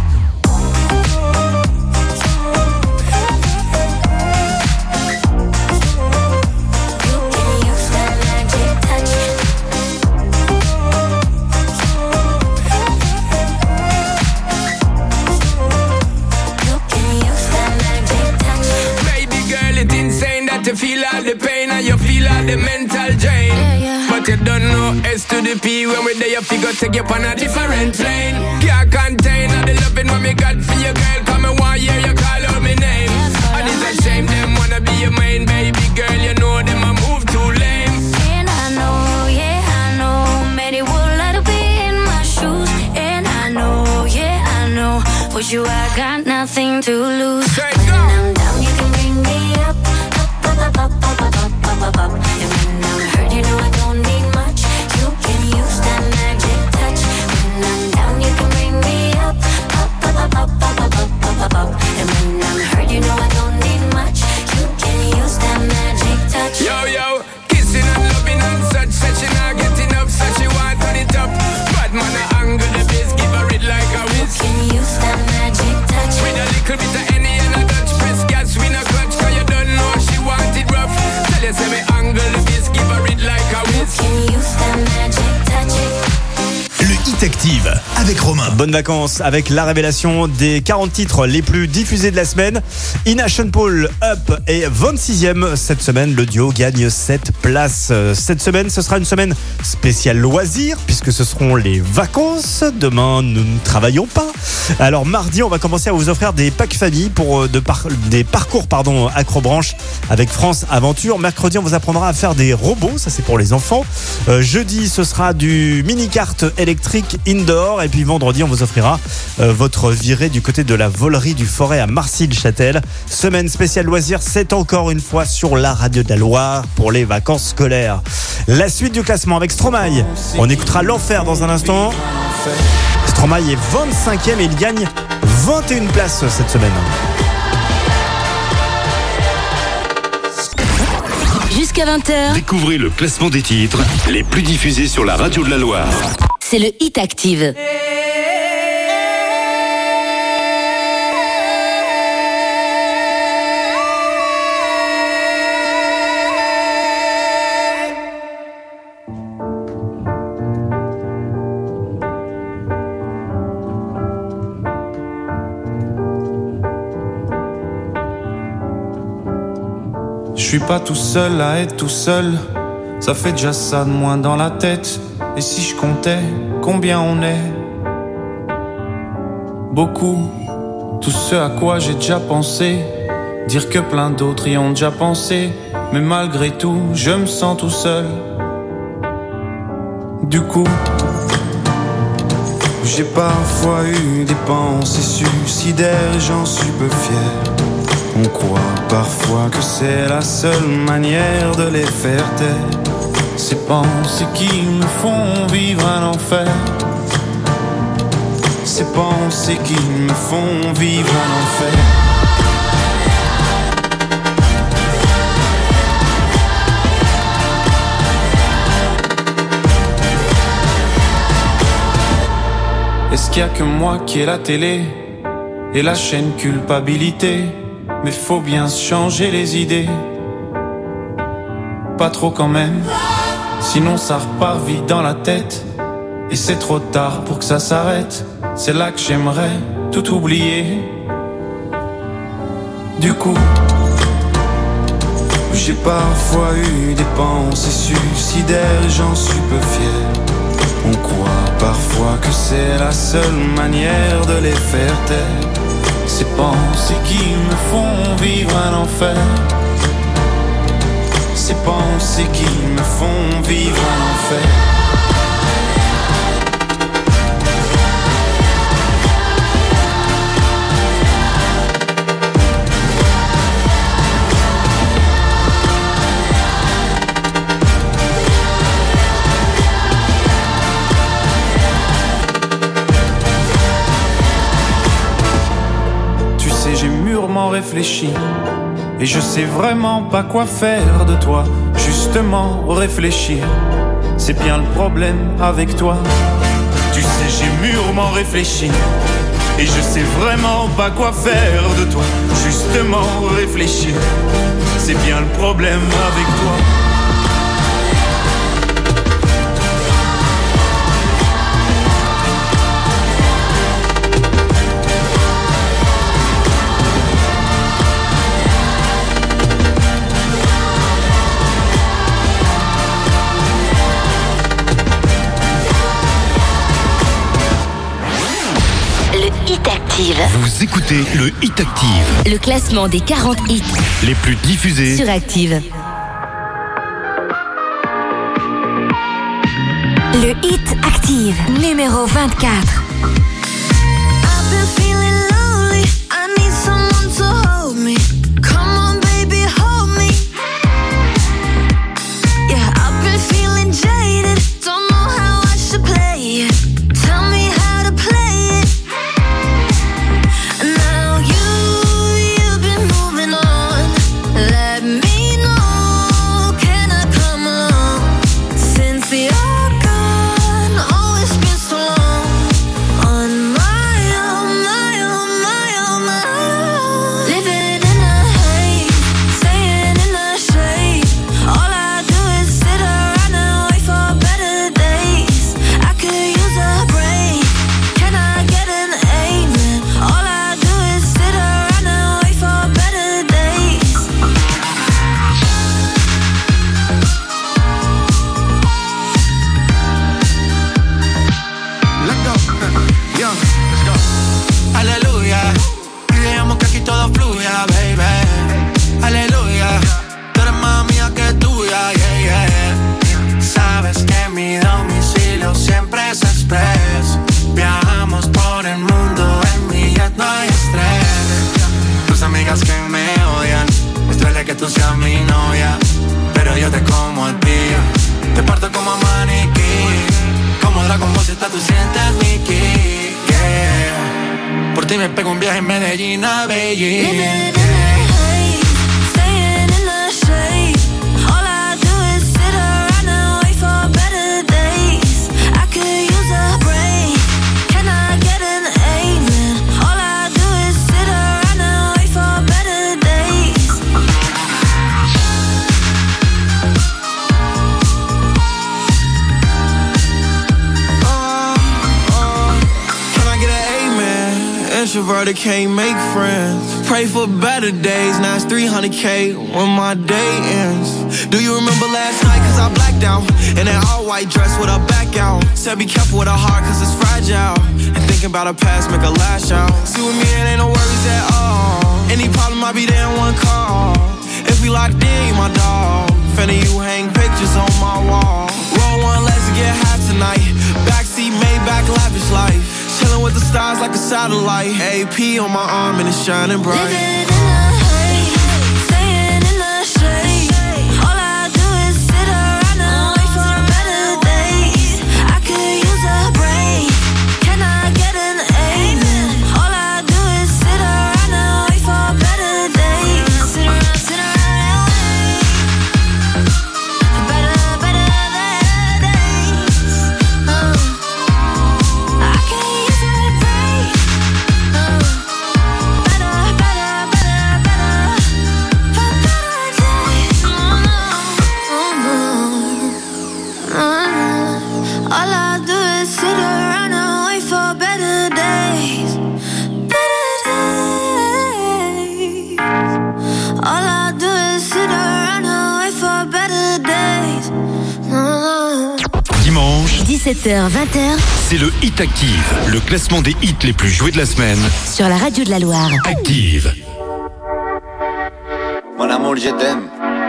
You can use that magic touch. You can use that magic touch. Baby girl, it's insane that you feel all the pain and you feel all the mental drain. But you don't know S to the P. When we're there, you figure take you on a different plane. Can't contain all the loving what me got for you, girl. Come and one year you call out my name. And it's a shame them wanna be your main baby girl. You know them a move too lame. And I know, yeah, I know, many would like to be in my shoes. And I know, yeah, I know, with you I got nothing to lose. Straight When go. I'm down, you can bring me up, up, up, up, up, up, up, up, up, up. And when I'm hurt, you know I don't need much. You can use that magic touch. When I'm down, you can bring me up, up, up, up, up, up, up, up, up, up. And when I'm hurt, you know I don't need much. You can use that magic touch. Yo, yo, kissing and loving and such. Said she not get enough, so she want turn it up. Bad man a angle the bass, give her it like a whiz. You can use that magic touch. With a little bit of any and a Dutch press gas, we no clutch, cause you don't know she want it rough. Tell you say me angle the bass, give her it like a whiz. You can use that magic touch. Le Hit Active, Romain. Bonnes vacances avec la révélation des 40 titres les plus diffusés de la semaine. Ina Sean Paul, Up est 26e cette semaine. Le duo gagne 7 places. Cette semaine, ce sera une semaine spéciale loisirs puisque ce seront les vacances. Demain, nous ne travaillons pas. Alors mardi, on va commencer à vous offrir des packs famille pour des parcours acrobranche avec France Aventure. Mercredi, on vous apprendra à faire des robots. Ça, c'est pour les enfants. Jeudi, ce sera du mini-kart électrique indoor. Et puis vendredi, on vous offrira votre virée du côté de la volerie du Forêt à Marcy-le-Châtel. Semaine spéciale loisirs, c'est encore une fois sur la radio de la Loire pour les vacances scolaires. La suite du classement avec Stromae. On écoutera l'enfer dans un instant. Stromae est 25e et il gagne 21 places cette semaine. Jusqu'à 20h. Découvrez le classement des titres les plus diffusés sur la radio de la Loire. C'est le Hit Active. Je suis pas tout seul à être tout seul, ça fait déjà ça de moins dans la tête. Et si je comptais combien on est? Beaucoup, tout ce à quoi j'ai déjà pensé. Dire que plein d'autres y ont déjà pensé. Mais malgré tout, je me sens tout seul. Du coup, j'ai parfois eu des pensées suicidaires et j'en suis peu fier. On croit parfois que c'est la seule manière de les faire taire. Ces pensées qui me font vivre un enfer. Ces pensées qui me font vivre un enfer. Est-ce qu'il y a que moi qui ai la télé et la chaîne culpabilité? Mais faut bien se changer les idées. Pas trop quand même, sinon ça repart vite dans la tête. Et c'est trop tard pour que ça s'arrête. C'est là que j'aimerais tout oublier. Du coup, j'ai parfois eu des pensées suicidaires et j'en suis peu fier. On croit parfois que c'est la seule manière de les faire taire. Ces pensées qui me font vivre un enfer. Ces pensées qui me font vivre un enfer. Réfléchi et je sais vraiment pas quoi faire de toi. Justement réfléchir, c'est bien le problème avec toi. Tu sais j'ai mûrement réfléchi et je sais vraiment pas quoi faire de toi. Justement réfléchir, c'est bien le problème avec toi. Vous écoutez le Hit Active. Le classement des 40 hits les plus diffusés sur Active. Le Hit Active, numéro 24. Since you're gone, oh, it's been so long. y me pego un viaje en Medellín a Beijing. Living in the haze, staying in the shade. All I do is sit around and wait for better days. I could use a break. Can I get an amen? All I do is sit around and wait for better days. Can I get an amen? Introverted can't make friends. Pray for better days. Now it's 300K when my day ends. Do you remember last night? Cause I blacked out in that all white dress with a back out. Said be careful with her heart cause it's fragile. And thinking about her past make her lash out. See with me it ain't no worries at all. Any problem I be there in one call. If we locked in, you my dog. Finna you hang pictures on my wall. Roll one, let's get high tonight. Backseat, Maybach, lavish life. Chillin' with the stars like a satellite. AP on my arm and it's shining bright. Living in the haze, staying in the shade. All I do is sit around and wait for better days. I could use a break. Can I get an amen? All I do is sit around and wait for better days. Sit around and wait for better days. I could use a break. All I do is sit around and wait for better days. Better days. All I do is sit around and wait for better days. Dimanche, 17h, 20h, c'est le Hit Active, le classement des hits les plus joués de la semaine. sur la radio de la Loire. Active. Mon amour, je t'aime.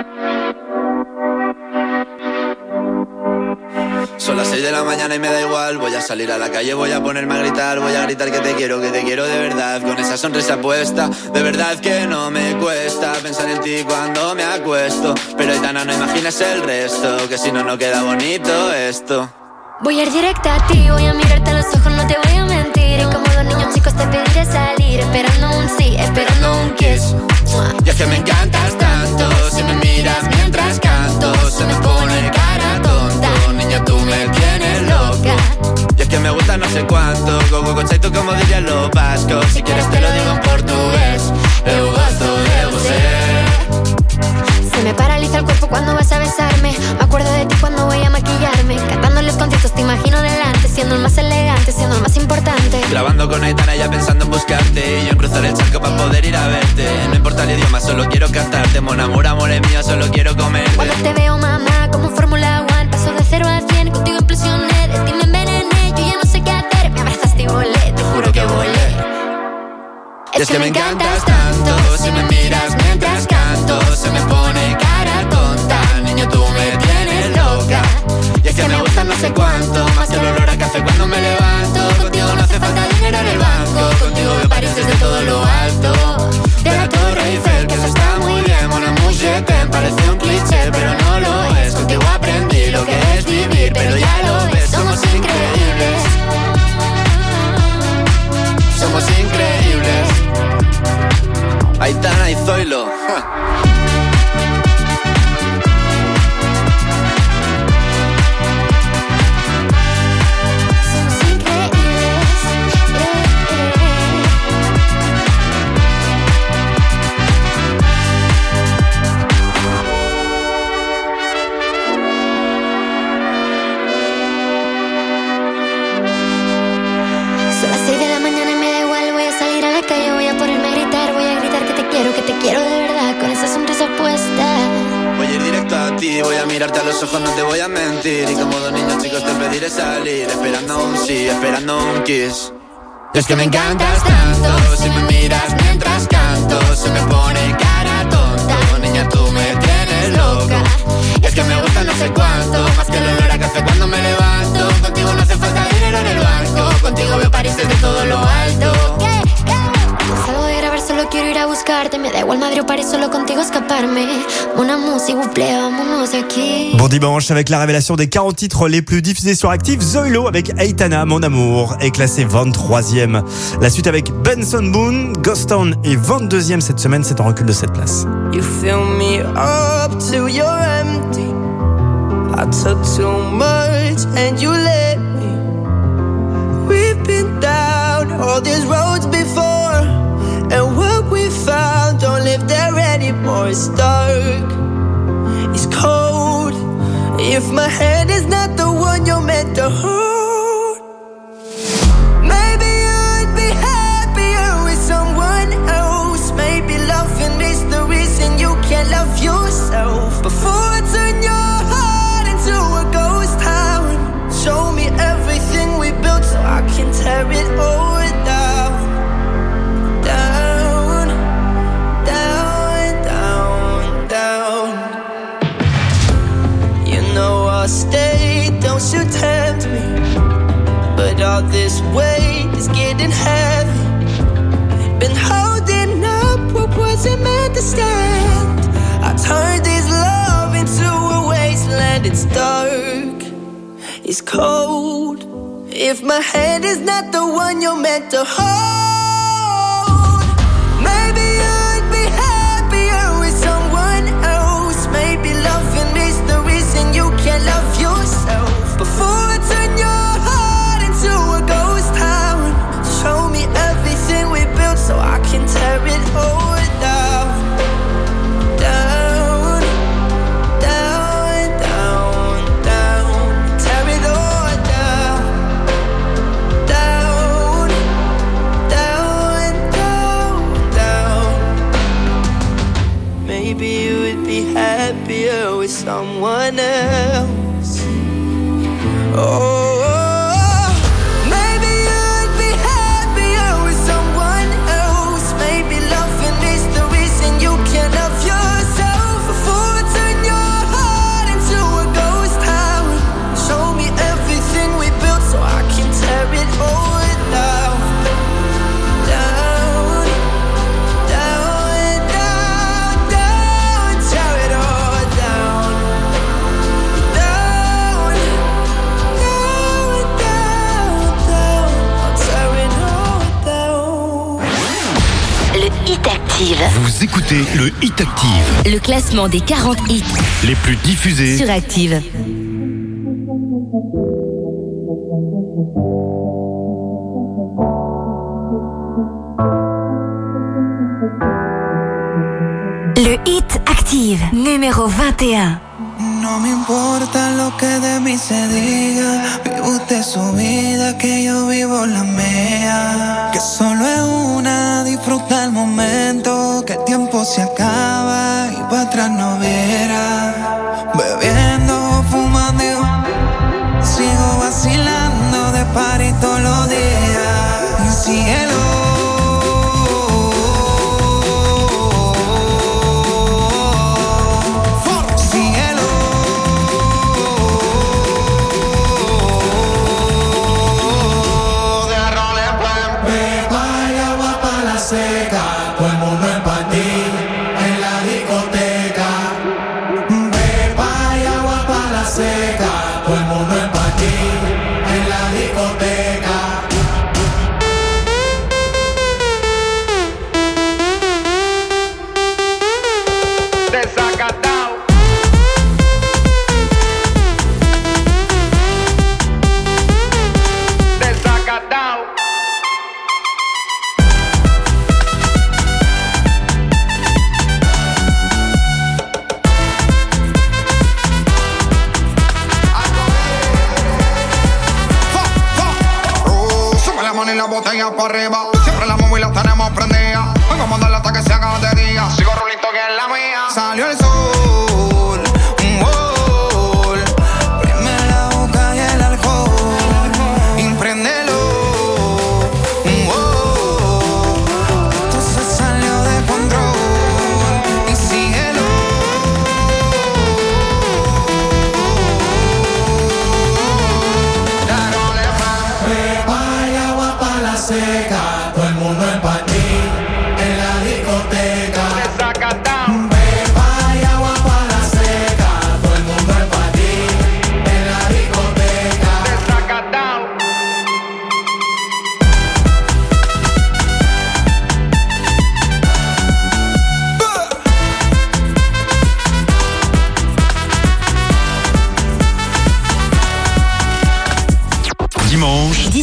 Son las 6 de la mañana y me da igual. Voy a salir a la calle, voy a ponerme a gritar. Voy a gritar que te quiero de verdad. Con esa sonrisa puesta, de verdad que no me cuesta pensar en ti cuando me acuesto. Pero Aitana, no imaginas el resto, que si no, no queda bonito esto. Voy a ir directa a ti, voy a mirarte a los ojos, no te voy a mentir. Y como dos niños chicos te pediré salir, esperando un sí, esperando un kiss. Y es que me encantas tanto, si me miras mientras canto, se me pone cara tonta. Niña, tú me tienes loca. Y es que me gusta no sé cuánto, go conceito como dirían los vascos. Si quieres te lo digo en portugués, eu gosto de você. Se me paraliza el cuerpo cuando vas a besarme. Me acuerdo de ti cuando voy a maquillarme. Cantando en los conciertos te imagino delante, siendo el más elegante, siendo el más importante. Grabando con Aitana ya pensando en buscarte, y yo en cruzar el charco para poder ir a verte. No importa el idioma, solo quiero cantarte. Mon amour, amor es mío, solo quiero comerte. Cuando te veo, mamá, como en Fórmula 1, paso de 0 a 100, contigo implosioné. De ti me envenené, yo ya no sé qué hacer. Me abrazaste y volé, te juro que volé. Y es que me encantas tanto, si me miras mientras canto, se me pone cara tonta. Niño, tú me tienes loca. Y es que me gusta no sé cuánto, más que el olor a café cuando me levanto. Contigo no hace falta dinero en el banco, contigo veo París desde todo lo alto. De la Torre Eiffel, que eso está muy bien. Mon amour, je t'aime, parece un cliché, pero no lo es. Contigo aprendí lo que es vivir, pero ya lo ves, somos increíbles. Somos increíbles. Aitana y Zoilo. Son las 6 de la mañana y me da igual. Voy a salir a la calle, voy a ponerme a gritar. Voy a gritar que te quiero de verdad, con esa sonrisa puesta. Voy a ir directo a ti, voy a mirarte a los ojos, no te voy a mentir. Y como dos niños chicos te pediré salir, esperando un sí, esperando un kiss. Y es que me encantas tanto, si me miras mientras canto, se me pone cara tonta. Niña, tú me tienes loca. Y es que me gusta no sé cuánto, más que el olor a café cuando me levanto. Contigo no hace falta dinero en el banco, contigo veo París desde todo lo alto. Salgo de grabar, solo quiero ir a a buscarte. Me da igual madre o París, solo contigo escaparme. Mon amour, s'il vous plaît, vámonos de aquí. Bon dimanche avec la révélation des 40 titres les plus diffusés sur Active. Zoilo avec Aitana, Mon Amour, est classé 23e. La suite avec Benson Boone, Ghost Town est 22e cette semaine, c'est en recul de 7 places. You fill me up till you're empty. I took too much and you let me. We've been down all these roads before, and what we found don't live there anymore. It's dark, it's cold. If my hand is not the one you're meant to hold, maybe you'd be happier with someone else. Maybe loving is the reason you can't love yourself. Before I turn your heart into a ghost town, show me everything we built so I can tear it all down. Down, down, down, down. You know I'll stay, don't you tempt me, but all this weight is getting heavy. Been holding up what wasn't meant to stand. I turned this love into a wasteland. It's dark, it's cold. If my hand is not the one you're meant to hold, maybe you'd be happier with someone else. Maybe loving is the reason you can't love yourself. Before I turn your heart into a ghost town, show me everything we built so I can tear it all down. Down, down, down, down. Tear it all down. Down, down, down, down. Maybe you would be happier with someone else. Oh, maybe you'd be happier with someone else. Maybe loving is the reason you can't love yourself. Before I turn your heart into a ghost town, show me everything we built so I can tear it all down. Down, down, down, down. Tear it all down. Down, down, down, down. I'll tear it all down. Le Hit Active. Vous écoutez le Hit Active, Le classement des 40 hits les plus diffusés sur Active. Le Hit Active, numéro 21. No me importa lo que de mí se diga, vive usted su vida, que yo vivo la mía. Que solo es una, disfruta el momento, que el tiempo se acaba y para atrás no verá. Bebiendo, fumando, sigo vacilando de party todos los días. Síguelo. Todo el mundo en panty, en la discoteca. Beba y agua pa' la seca. Todo el mundo en panty, en la discoteca. Desacatao. Desacatao. Y la botella para arriba, siempre la móvil la tenemos prendida. Vengo a mandarla hasta que se haga de día. Sigo rulito que es la mía. Salió el sol, un gol. Prime la boca y el alcohol. Impréndelo, un gol. Esto se salió de control. Y síguelo. Beba y agua pa' la seca. Todo el mundo en panty, en la discoteca.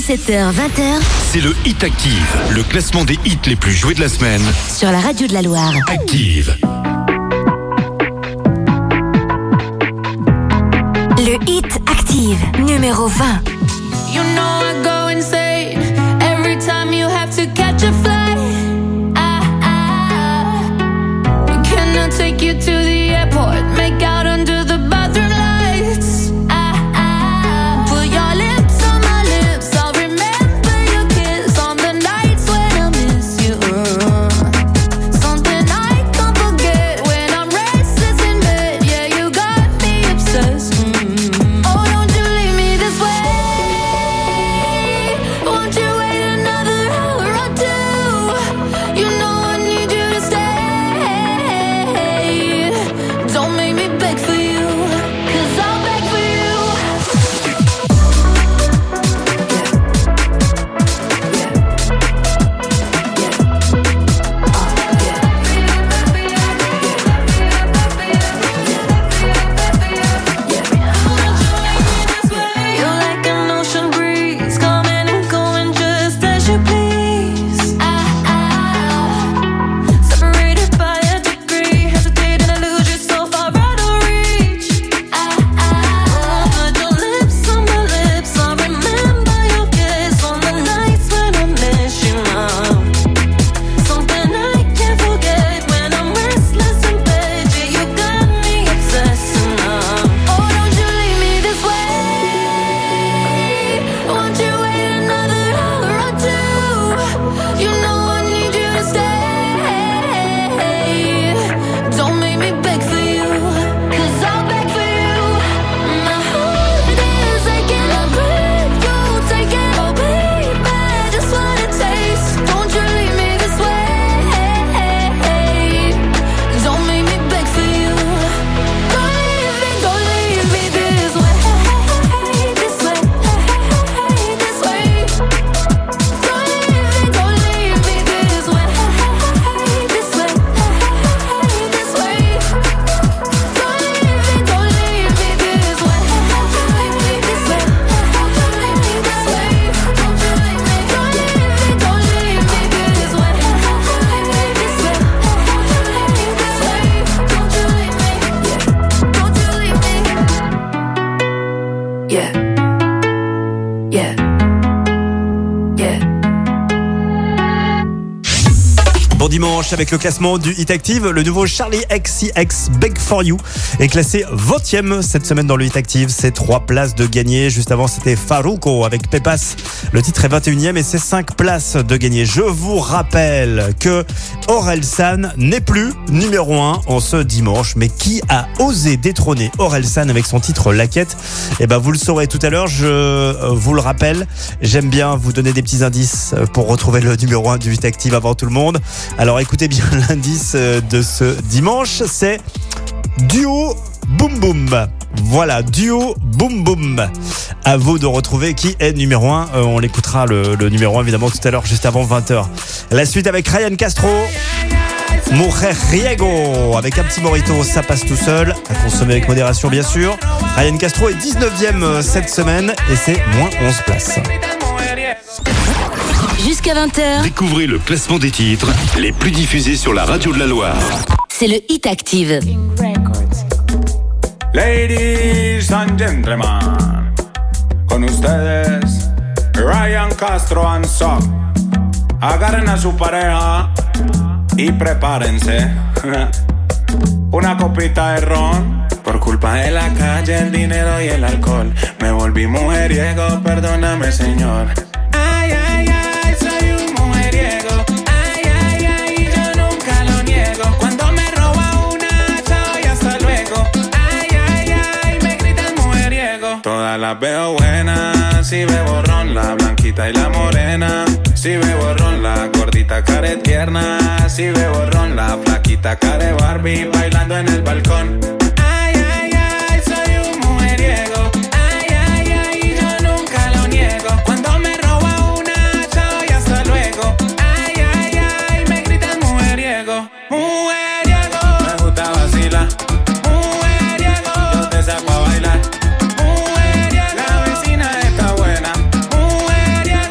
17h, 20h. C'est le Hit Active, le classement des hits les plus joués de la semaine. Sur la radio de la Loire. Active. Le Hit Active, numéro 20. You know I go insane every time you have to catch a flight. Can I take you to the airport? Make out under the bathroom lights. Put your lips on my lips. I'll remember your kiss on the nights when I miss you. Something I can't forget when I'm restless in bed. Yeah, you got me obsessed. Oh, don't you leave me this way. Won't you wait another hour or two? You know I need you to stay. Don't make me beg for you, 'cause I'll beg for you. You're like an ocean breeze, coming and going just as you please. Separated by a degree, hesitating to lose you so far out of reach. Put your lips on my lips, I remember your kiss on the nights when I miss you now. Something I can't forget when I'm restless in bed. Yeah, you got me obsessed now. Oh, don't you leave me this way. Won't you wait another hour or two? You know I need you to stay. Don't make me beg for you, 'cause I'll beg for you. My heart is aching, I'll breathe, you take it, oh baby, just wanna taste. Don't you leave me this way. Don't make me beg for you. Don't leave me this way. This way, this way. Don't leave me this way. This way, this way. Don't leave me this way. This way, this way. Don't leave me this way. Don't you leave me. Yeah. Yeah. Yeah. Bon dimanche avec le classement du Hit Active. Le nouveau Charlie XCX Beg For You est classé 20e cette semaine dans le Hit Active. C'est 3 places de gagné. Juste avant, c'était Farruko avec Pepas. Le titre est 21e et c'est 5 places de gagné. Je vous rappelle que Orelsan n'est plus numéro 1 en ce dimanche. Mais qui a osé détrôner Orelsan avec son titre Laquette? Eh ben, vous le saurez tout à l'heure. Je vous le rappelle. J'aime bien vous donner des petits indices pour retrouver le numéro 1 du Hit Active avant tout le monde. Alors écoutez bien l'indice de ce dimanche, c'est Duo Boom Boom. Voilà, Duo Boom Boom. À vous de retrouver qui est numéro 1. On l'écoutera le numéro 1 évidemment tout à l'heure, juste avant 20h. La suite avec Ryan Castro, Mujeriego, avec un petit morito, ça passe tout seul, à consommer avec modération bien sûr. Ryan Castro est 19e cette semaine et c'est moins 11 places. Jusqu'à 20h. Découvrez le classement des titres les plus diffusés sur la radio de la Loire. C'est le Hit Active. Ladies and gentlemen, con ustedes, Ryan Castro and Son. Agarren a su pareja y prepárense. Una copita de ron. Por culpa de la calle, el dinero y el alcohol, me volví mujeriego, perdóname, señor. Ay, ay, ay, soy un mujeriego. Ay, ay, ay, yo nunca lo niego. Cuando me roba una, chao y hasta luego. Ay, ay, ay, me gritan mujeriego. Todas las veo buenas, si bebo ron, la blanquita y la morena. Si bebo ron, la gordita care tierna. Si bebo ron, la flaquita care Barbie, bailando en el balcón. Ay, ay, ay, soy un mujeriego. Ay, ay, ay, yo nunca lo niego. Cuando me roba una, chao y hasta luego. Ay, ay, ay, me gritan mujeriego. Mujeriego, me gusta vacilar. Mujeriego, yo te saco a bailar. Mujeriego, la vecina está buena. Mujeriego,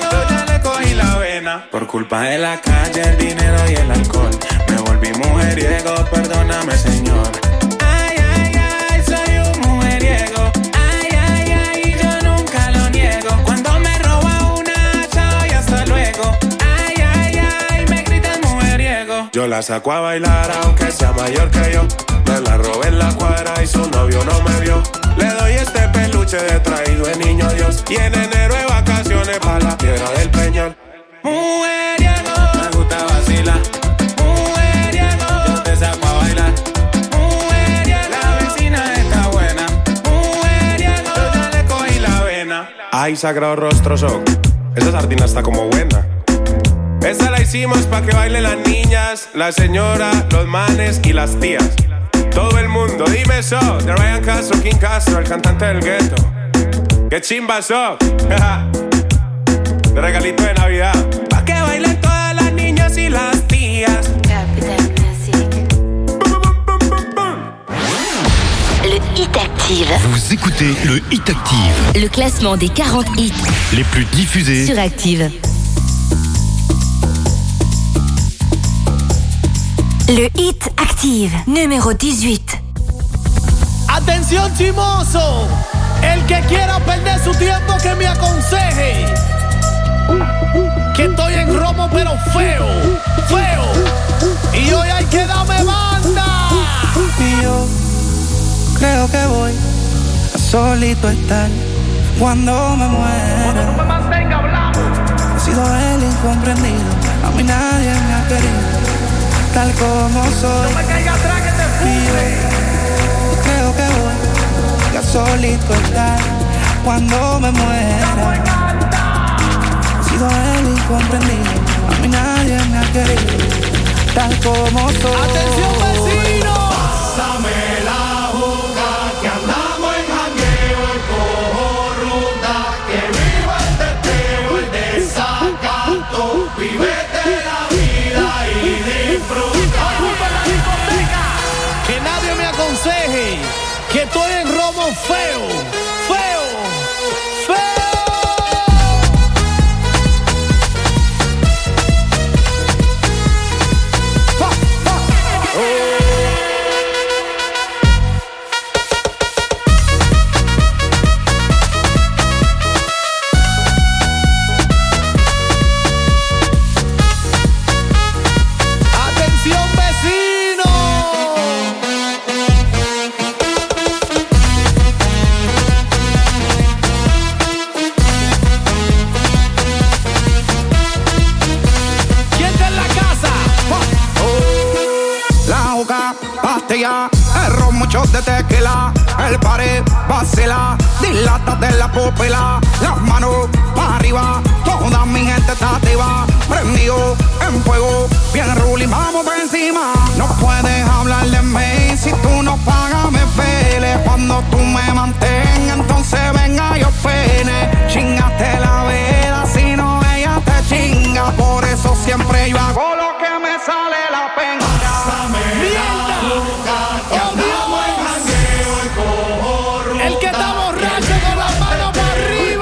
la calle, el dinero y el alcohol. Me volví mujeriego, perdóname, Señor. Ay, ay, ay, soy un mujeriego. Ay, ay, ay, yo nunca lo niego. Cuando me roba una, chao y hasta luego. Ay, ay, ay, me gritan mujeriego. Yo la saco a bailar aunque sea mayor que yo. Me la robé en la cuadra y su novio no me vio. Le doy este peluche de traído de niño Dios. Y en enero de vacaciones pa' la Piedra del Peñol. Mujeriego, me gusta vacilar. Mujeriego, yo te saco a bailar. Mujeriego, la vecina está buena. Mujeriego, yo ya le cogí la vena. Ay, sagrado rostro show. Esa sardina está como buena. Esa la hicimos pa' que bailen las niñas, la señora, los manes y las tías. Todo el mundo, dime so. De Ryan Castro, King Castro, el cantante del gueto. ¡Qué chimba so! De regalito de Navidad. Pa' que bailen todas las niñas y las tías. Le Hit Active. Vous écoutez le Hit Active. Le classement des 40 hits Les plus diffusés sur Active. Le Hit Active, numéro 18. Atención chimoso, el que quiera perder su tiempo que me aconseje. Que estoy en romo pero feo, feo. Y hoy hay que darme banda. Y yo creo que voy a solito estar cuando me muera. Cuando no me mantenga hablando. He sido el incomprendido, a mí nadie me ha querido tal como soy. No me caiga atrás que te fume. Yo creo que voy a solito estar cuando me muera. He sido el incomprendido, a mí nadie me ha querido tal como soy. Atención vecino. Pásame la juca que andamos en jangueo y cojo ruta. Que viva el teteo, el desacato. Vívete la vida y disfruta. La discoteca. Que nadie me aconseje que estoy en romo feo, feo, feo. El ron, muchos de tequila, el pared vacila, dilátate la pupila, las manos para arriba, toda mi gente está activa, prendido en fuego, bien ruling, vamos por encima. No puedes hablar de mí, si tú no pagas me pele, cuando tú me mantengas, entonces venga yo pene, chingate la vela, si no ella te chinga, por eso siempre yo hago lo que me sale la pena. El que está borracho con las manos para arriba.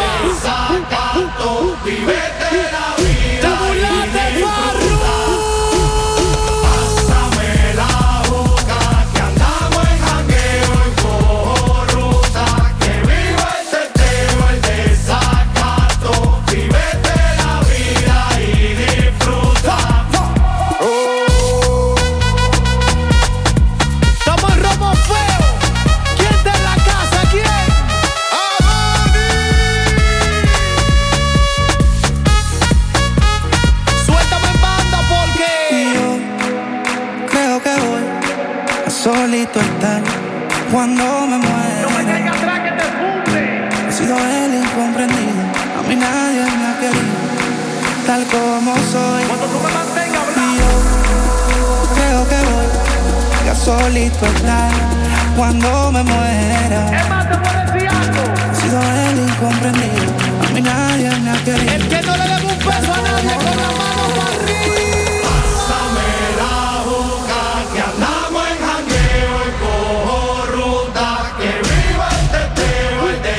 Vívete la vida. Te burlaste, Farru. Pásame la boca que andamos en jangueo y cojo ruta. Que viva el teteo, el desacato. Vívete la vida y disfruta. Estamos en romo feo. ¿Quién está en la casa? ¿Quién? Suéltame en banda porque yo creo que voy a solito estar cuando me muera. No me caiga atrás que te funde. He sido el incomprendido, a mí nadie me ha querido tal como soy. Cuando tú me mantengas hablando. Y yo creo que voy a solito estar cuando me muera. Es más, te puedo decir algo. He sido el incomprendido, a mí nadie me ha querido. El que no le debe un peso a nadie con la mano para arriba. Pásame la boca que andamos en jangueo y cojo ruta. Que viva el teteo, el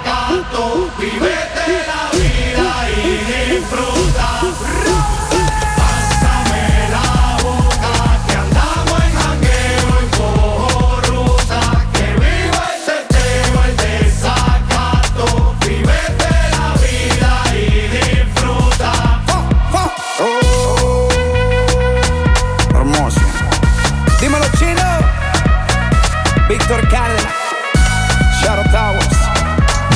desacato. Vívete la vida y disfruta.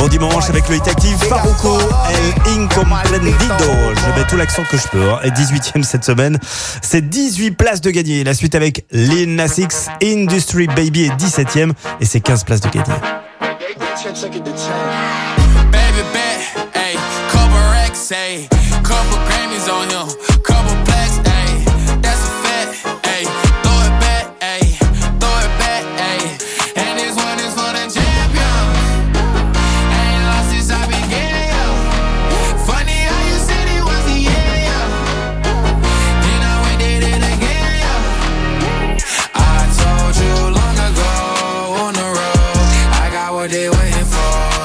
Bon dimanche avec le Hit Active, Farruko, El Incomprendido. Je mets tout l'accent que je peux. Et 18e cette semaine, c'est 18 places de gagner. La suite avec Lil Nas X, Industry Baby est 17e et c'est 15 places de gagner. Baby bet, ayy, couple racks, ayy, couple Grammys on him, couple plaques, ayy, that's a fact, ayy, throw it back, ayy, throw it back, ayy, and this one is for the champion. Ain't lost since I began, yo. Funny how you said it was a yeah, yo. Then I went did it again, yo. I told you long ago on the road, I got what they waiting for.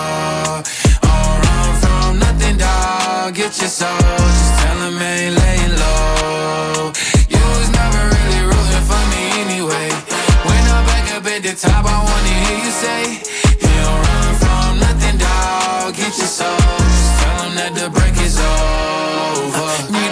Get your soul, just tell him ain't laying low. You was never really rooting for me anyway. When I'm back up at the top, I wanna hear you say, you don't run from nothing, dawg. Get your soul, just tell him that the break is over.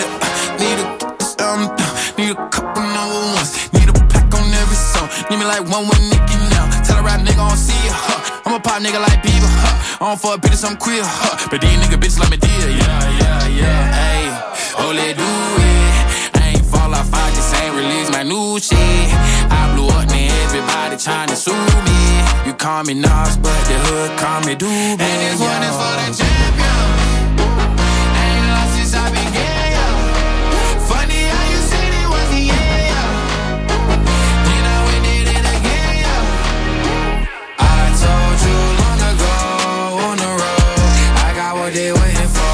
Need a couple number ones. Need a pack on every song. Need me like one with Nicki now. Tell a rap nigga I don't see ya, huh. I'm a pop nigga like Bieber, huh. I don't fuck bitches, I'm queer, huh. But these nigga bitches like me dear, yeah, ayy. Oh, let do it. I ain't fall off, I just ain't release my new shit. I blew up, man, everybody tryna sue me. You call me Nas, but the hood call me Doobie. And this one is for the champion. Ain't lost since I began, yo. Funny how you said it was a yeah, yo. Then I went did it again, yo. I told you long ago on the road, I got what they waiting for.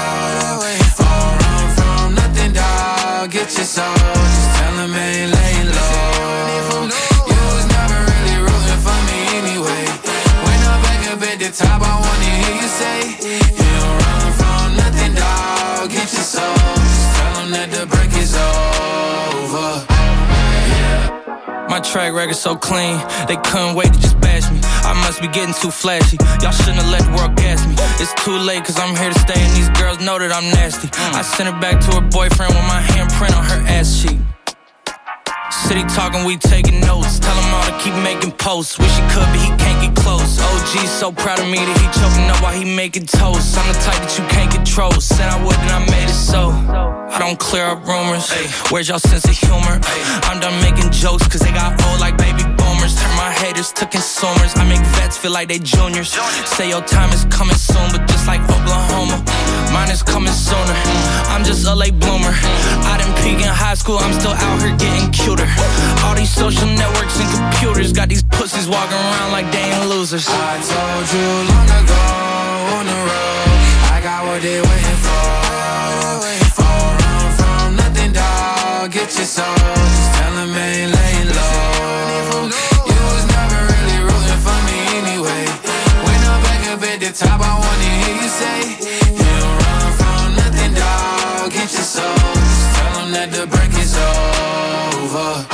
Get your soul, just tell him ain't laying low. You was never really rooting for me anyway. When I'm back up at the top, I wanna hear you say, you don't run from nothing, dawg. Get your soul, just tell him that the break is over. My track record so clean, they couldn't wait to just bash me. I must be getting too flashy, y'all shouldn't have let the world gas me. It's too late cause I'm here to stay and these girls know that I'm nasty. I sent her back to her boyfriend with my handprint on her ass cheek. City talking, we taking notes. Tell him all to keep making posts. Wish he could, but he can't get close. OG's so proud of me that he choking up while he making toast. I'm the type that you can't control. Said I would and I made it so. I don't clear up rumors. Where's y'all sense of humor? I'm done making jokes cause they got old like baby boomers. Turn my haters to consumers. I make vets feel like they juniors. Say your time is coming soon, but just like Oklahoma, mine is coming sooner. I'm just a late bloomer. I didn't peak in high school, I'm still out here getting cuter. All these social networks and computers got these pussies walking around like they ain't losers. I told you long ago on the road, I got what they waiting for. Don't run from nothing, dawg. Get your soul, just tell him ain't laying low. You was never really rooting for me anyway. When I'm back up at the top, I wanna hear you say, you don't run from nothing, dawg. Get your soul, just tell him that the break is over.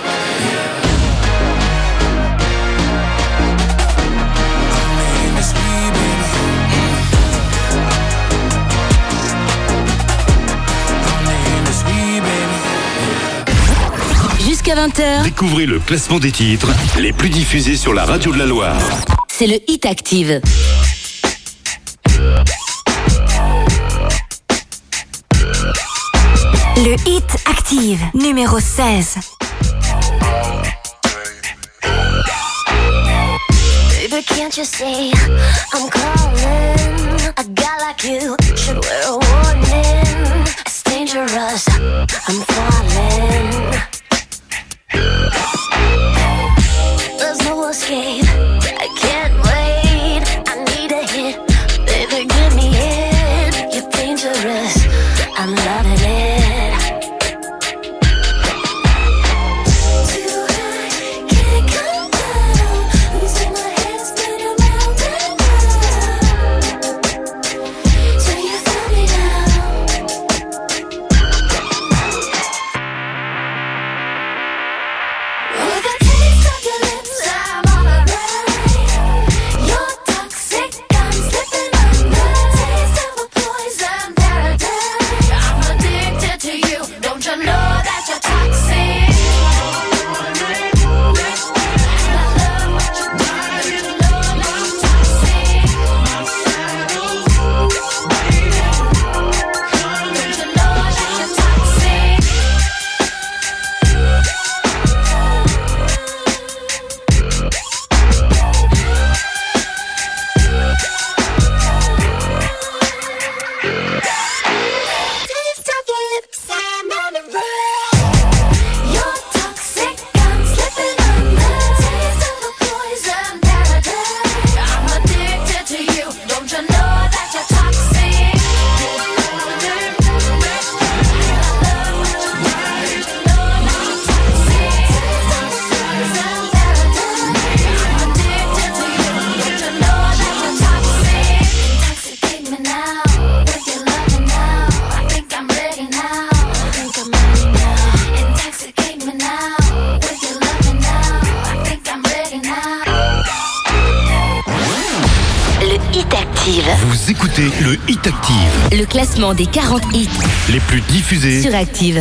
Jusqu'à 20h. Découvrez le classement des titres les plus diffusés sur la radio de la Loire. C'est le Hit Active. Le Hit Active, numéro 16. Baby, can't you see I'm calling? A guy like you should wear a warning. It's dangerous, I'm falling. There's no escape, I can't wait. I need a hit, baby, give me it. You're dangerous, I'm loving it. écoutez le Hit Active. Le classement des 40 hits Les plus diffusés sur Active.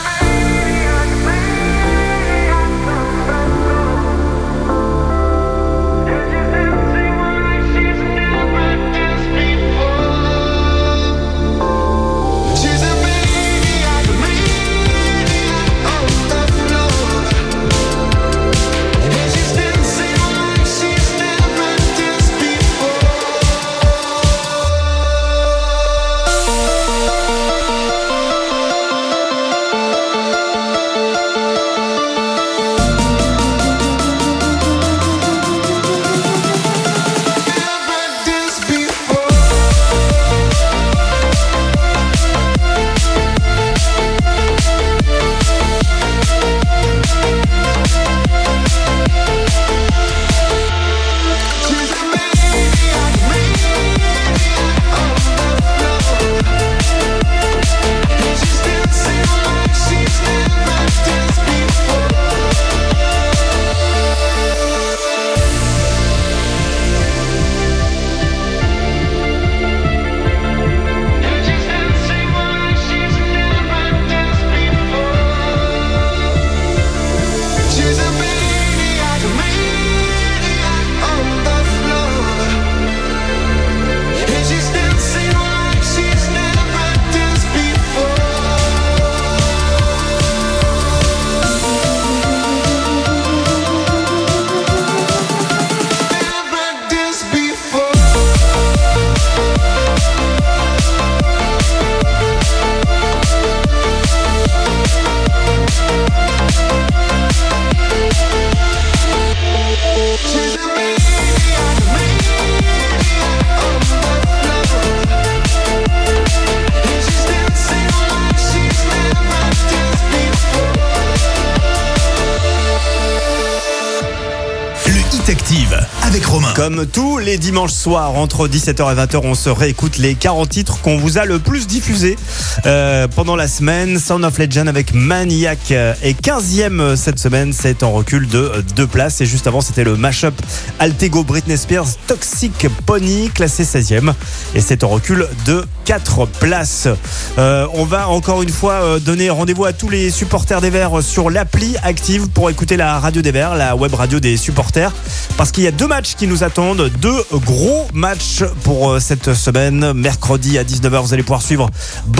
Active avec Romain. Comme tous les dimanches soirs entre 17h et 20h, on se réécoute les 40 titres qu'on vous a le plus diffusés pendant la semaine. Sound of Legend avec Maniac est 15e cette semaine, c'est en recul de 2 places. Et juste avant, c'était le mashup Altego Britney Spears Toxic Pony, classé 16e. Et c'est en recul de 4 places. On va encore une fois donner rendez-vous à tous les supporters des Verts sur l'appli Active pour écouter la radio des Verts, la web radio des supporters. Parce qu'il y a 2 matchs qui nous attendent, 2 gros matchs pour cette semaine. Mercredi à 19h, vous allez pouvoir suivre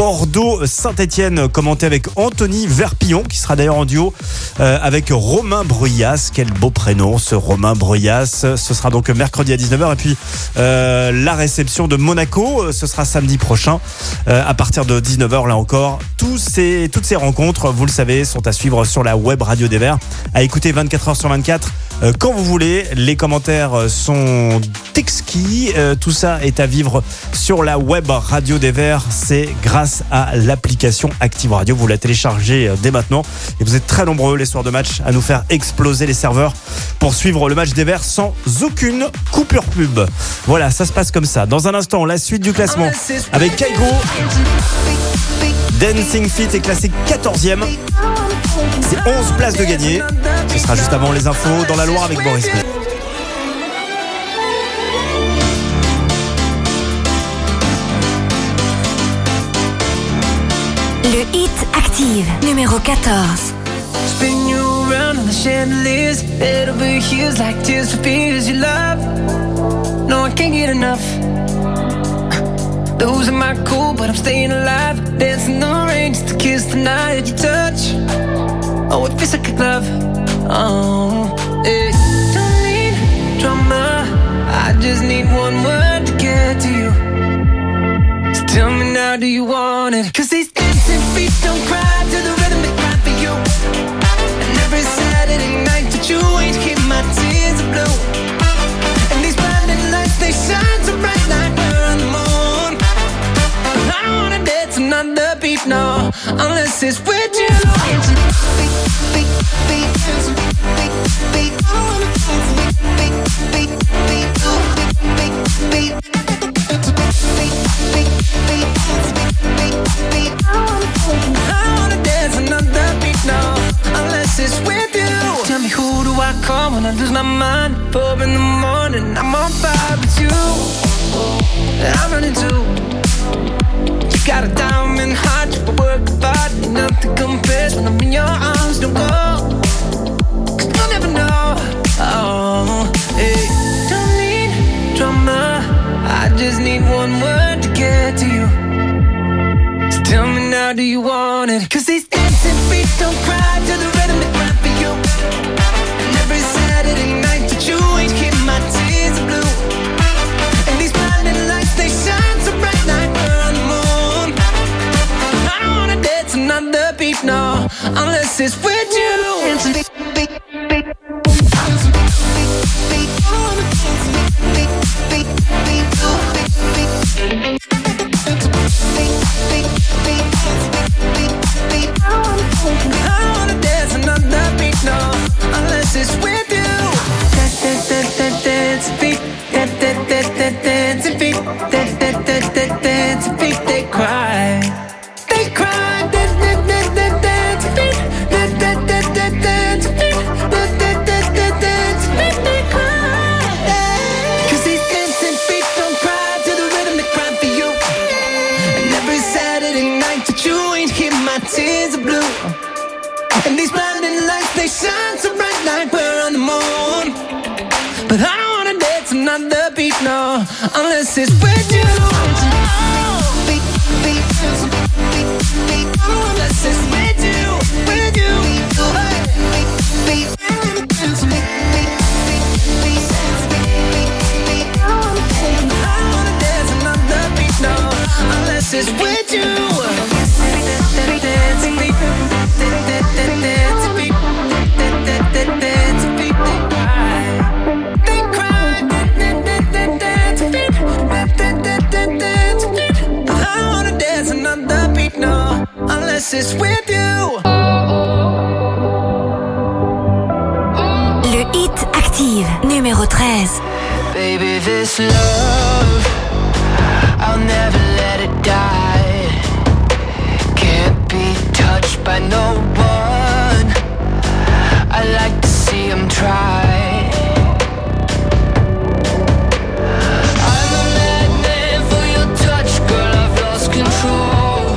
Bordeaux-Saint-Etienne, commenté avec Anthony Verpillon, qui sera d'ailleurs en duo avec Romain Bruyas. Quel beau prénom, ce Romain Bruyas. Ce sera donc mercredi à 19h. Et puis la réception de Monaco, ce sera samedi prochain à partir de 19h. Là encore, toutes ces rencontres, vous le savez, sont à suivre sur la web radio des Verts, à écouter 24h sur 24 quand vous voulez. Les commentaires sont exquis. Tout ça est à vivre sur la web radio des Verts. C'est grâce à l'application Active Radio. Vous la téléchargez dès maintenant. Et vous êtes très nombreux les soirs de match à nous faire exploser les serveurs pour suivre le match des Verts sans aucune coupure pub. Voilà, ça se passe comme ça. Dans un instant, la suite du classement avec Kaigo. Dancing Feet est classé 14e. C'est 11 places de gagné. Ce sera juste avant les infos dans la Loire avec Boris Blais. Le Hit Active, numéro 14. Spin you around on the chandeliers. It'll be hues like tears for fears you love. No, I can't get enough. Losing my cool, but I'm staying alive. Dancing in the rain just to kiss the night that you touch. Oh, it feels like a glove. Oh, yeah. Don't need drama. I just need one word to get to you. So tell me now, do you want it? 'Cause these dancing feet don't cry to the rhythm they cry for you. And every Saturday night that you ain't keep my tears blue. And these blinding lights, they shine so bright like we're on the moon. I don't wanna dance another beat, no, unless it's with you. I wanna dance another beat, no, unless it's with you. Tell me, who do I call when I lose my mind? 4 in the morning, I'm on fire with you. I'm running too. You got a diamond heart, you work hard, nothing compares when I'm in your arms. Don't go, 'cause you'll never know. Oh, hey. Don't need drama, I just need one word to get to you. So tell me now, do you want it? 'Cause these dancing feet don't cry to the rhythm they cry for you. And every Saturday night that you ain't keep my tears are blue. And these blinding lights, they shine so bright like we're on the moon. I don't wanna dance another beat, no, unless it's with you. Dancing beat, beat, beat. I don't wanna dance another beat, no, unless it's with you. Dance beat, dance beat, dance beat. They cry, they cry. Dance beat, dance beat, they cry. 'Cause these dancing feet don't cry to the rhythm they cry for you. And every Saturday night that you ain't hear my tears are blue. And these blinding lights, they shine so bright like we're on the moon. But I don't wanna dance another beat, no, unless it's with you. Beat, beat, beat, beat, unless it's with you, with you. Hey. Beat, beat, I don't wanna dance another beat, no, unless it's with you. Unless it's with you. Le Hit Active, numéro 13. Baby, this love, I'll never let it die. Can't be touched by no one. I like to see him try. I'm a madman for your touch, girl, I've lost control.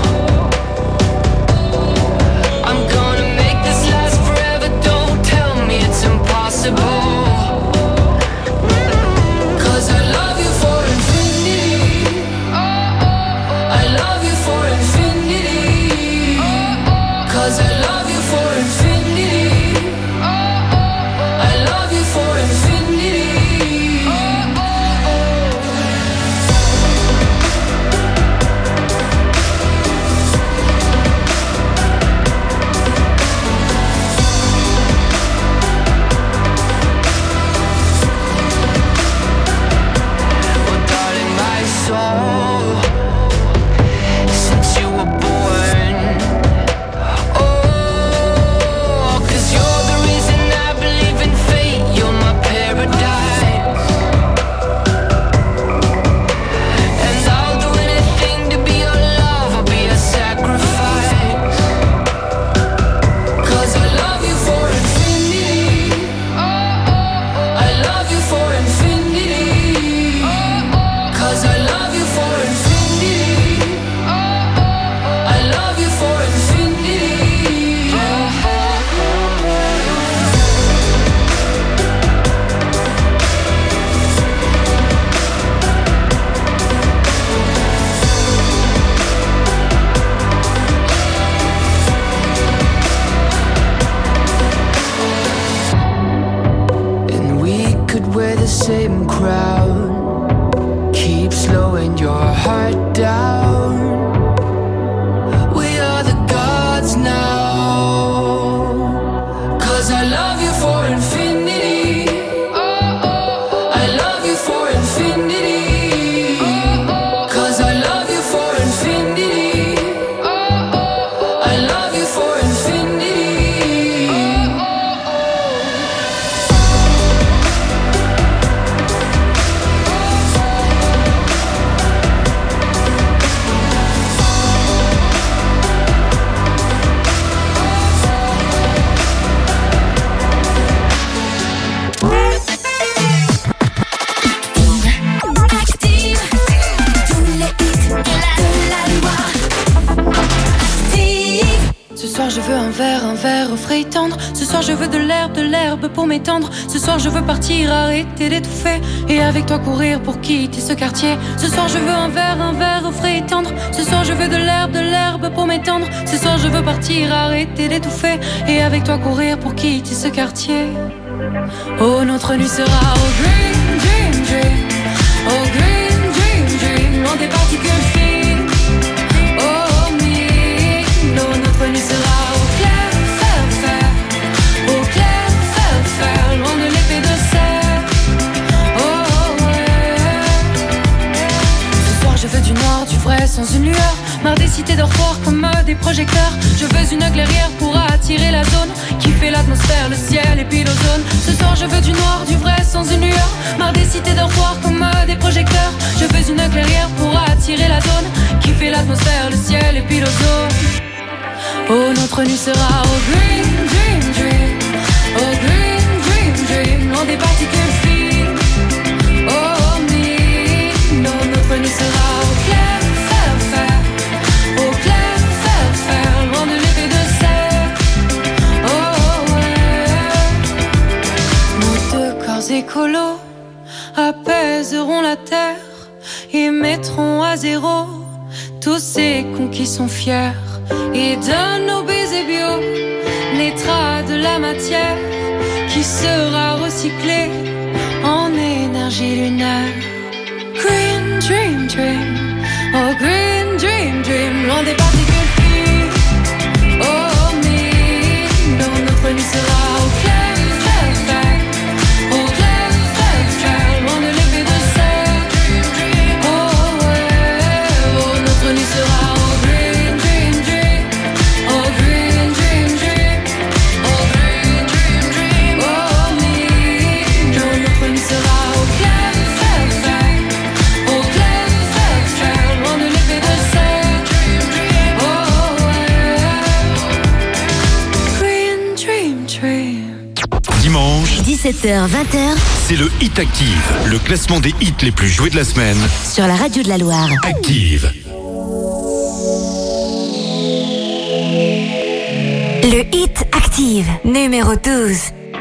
Same crowd, keep slowing your heart down. We are the gods now. 'Cause I love you for infinity. I love you for infinity. 'Cause I love you for infinity. I love you for infinity. un verre au frais tendre. Ce soir je veux de l'herbe pour m'étendre. Ce soir je veux partir, arrêter d'étouffer et avec toi courir pour quitter ce quartier. Ce soir je veux un verre au frais tendre. Ce soir je veux de l'herbe pour m'étendre. Ce soir je veux partir, arrêter d'étouffer et avec toi courir pour quitter ce quartier. Oh, notre nuit sera au green dream dream, au green dream dream, loin des particules fines. Oh me, non, notre nuit sera au clair fer, loin de l'épée de serre. Oh ouais. Ce soir je veux du noir, du vrai sans une lueur. Marre des cités dortoirs comme des projecteurs. Je veux une clairière pour attirer la zone qui fait l'atmosphère, le ciel et puis l'ozone. Ce soir je veux du noir, du vrai sans une lueur. Marre des cités dortoirs comme des projecteurs. Je veux une clairière pour attirer la zone qui fait l'atmosphère, le ciel et puis l'ozone. Oh, notre nuit sera au green dream dream, au green dream dream, loin des particules fines. Oh me, non, notre nuit sera au clair fer, loin de l'épée de serre. Oh ouais. Nos deux corps écolos apaiseront la terre et mettront à zéro tous ces cons qui sont fiers. Et de nos baisers bio naîtra de la matière qui sera recyclée en énergie lunaire. Green dream dream, oh green dream dream, loin des particules fines. Oh me, non, notre nuit sera au clair fer, loin de l'épée de serre. Oh ouais, oh, notre nuit sera au green dream dream, oh green dream dream, oh green dream dream. Oh me, non, notre nuit sera au clair fer, loin de l'épée de serre. Oh ouais, green dream dream. Dimanche, 17h-20h, c'est le Hit Active, le classement des hits les plus joués de la semaine. sur la radio de la Loire. Active. Le Hit Active, numéro 12.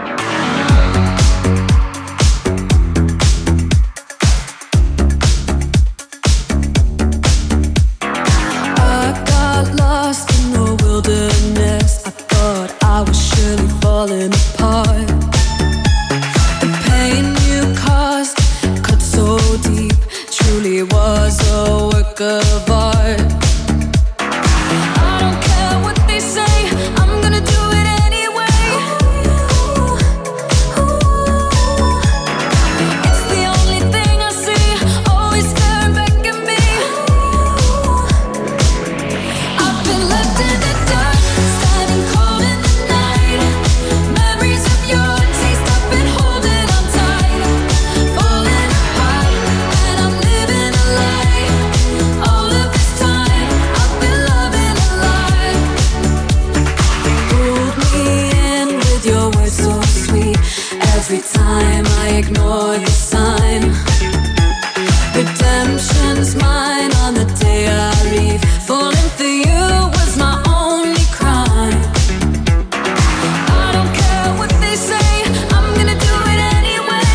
I got lost in the wilderness. I thought I was surely falling apart. The pain you caused cut so deep, truly was a work of art. I don't care what they say, I'm gonna do it anyway. It's the only thing I see, always staring back at me. I've been left in the dark, standing cold in the night. Memories of your taste, I've been holding on tight. Falling apart, and I'm living a lie. All of this time, I've been loving a lie. Hold me in with your words so sweet. Every time I ignore the sign. Redemption's mine on the day I leave. Falling for you was my only crime. I don't care what they say, I'm gonna do it anyway.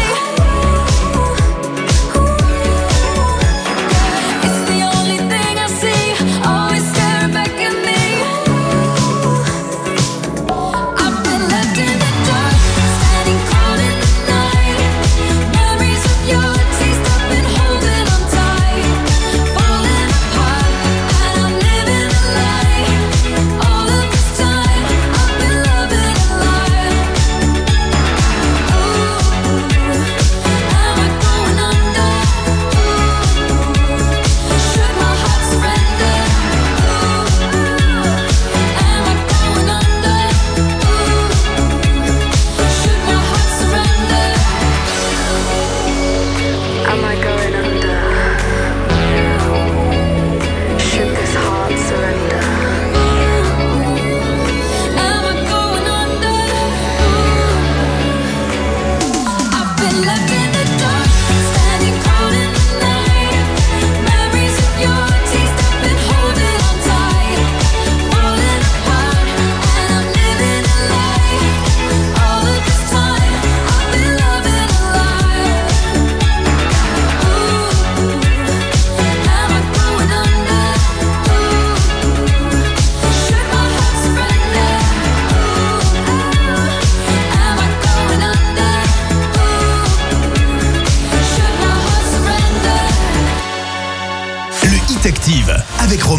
It's the only thing I see, always staring back at me. I've been left in the dark, standing cold in the night. Memories of your taste, I've been holding on tight. Falling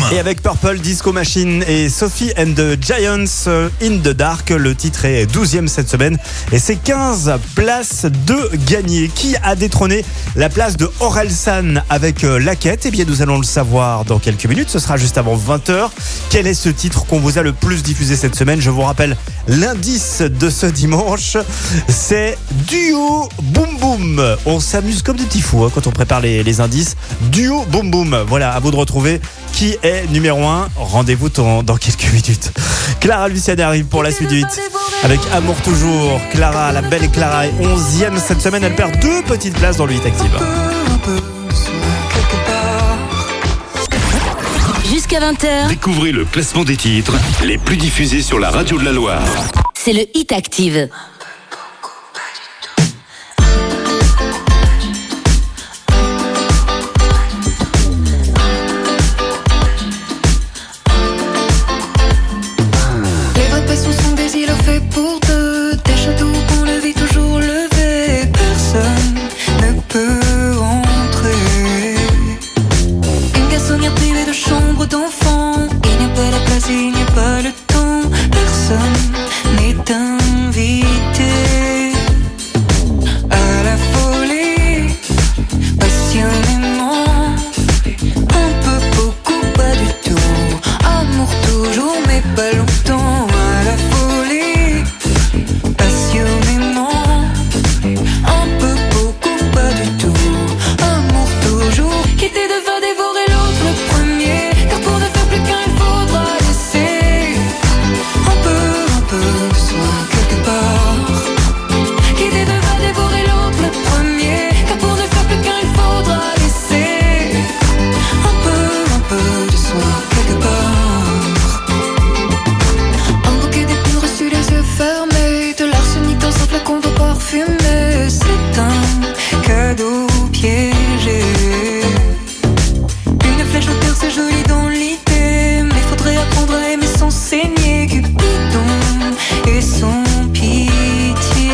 Et avec Purple Disco Machine et Sophie and the Giants in the Dark, le titre est 12e cette semaine et c'est 15 places de gagner. Qui a détrôné la place de Orelsan avec La Quête? Eh bien nous allons le savoir dans quelques minutes, ce sera juste avant 20h. Quel est ce titre qu'on vous a le plus diffusé cette semaine? Je vous rappelle l'indice de ce dimanche, c'est Duo Boom Boom. On s'amuse comme des petits fous quand on prépare les indices. Duo Boom Boom, voilà, à vous de retrouver qui est numéro 1. Rendez-vous dans quelques minutes. Clara Luciani arrive pour la suite du hit avec Amour Toujours. Clara, la belle Clara est 11e cette semaine, elle perd 2 petites places dans le hit active. Jusqu'à 20h. Découvrez le classement des titres les plus diffusés sur la radio de la Loire. C'est le Hit Active. Les vrais passions sont des îlots faits pour deux, des châteaux qu'on le vit toujours levé. Personne ne peut entrer. Une garçonnière privée de chambre d'enfant. Il n'y a pas la place et il n'y a pas le temps. Personne n'est invité à la folie. Passionnément, un peu, beaucoup, pas du tout. Amour toujours mais pas longtemps. À la folie, passionnément, un peu, beaucoup, pas du tout. Amour toujours, quitter de va dévorer l'autre le premier. Car pour ne faire plus qu'un il faudra laisser un peu de soi quelque part. Quitter de va dévorer l'autre le premier. Car pour ne faire plus qu'un il faudra laisser un peu de soi quelque part. Un bouquet d'épines reçues les yeux fermés, de l'arsenic dans un flacon d'eau parfumée. C'est un cadeau piégé. Une flèche au cœur c'est joli dans l'idée, mais faudrait apprendre à aimer sans saigner. Cupidon et son pitié.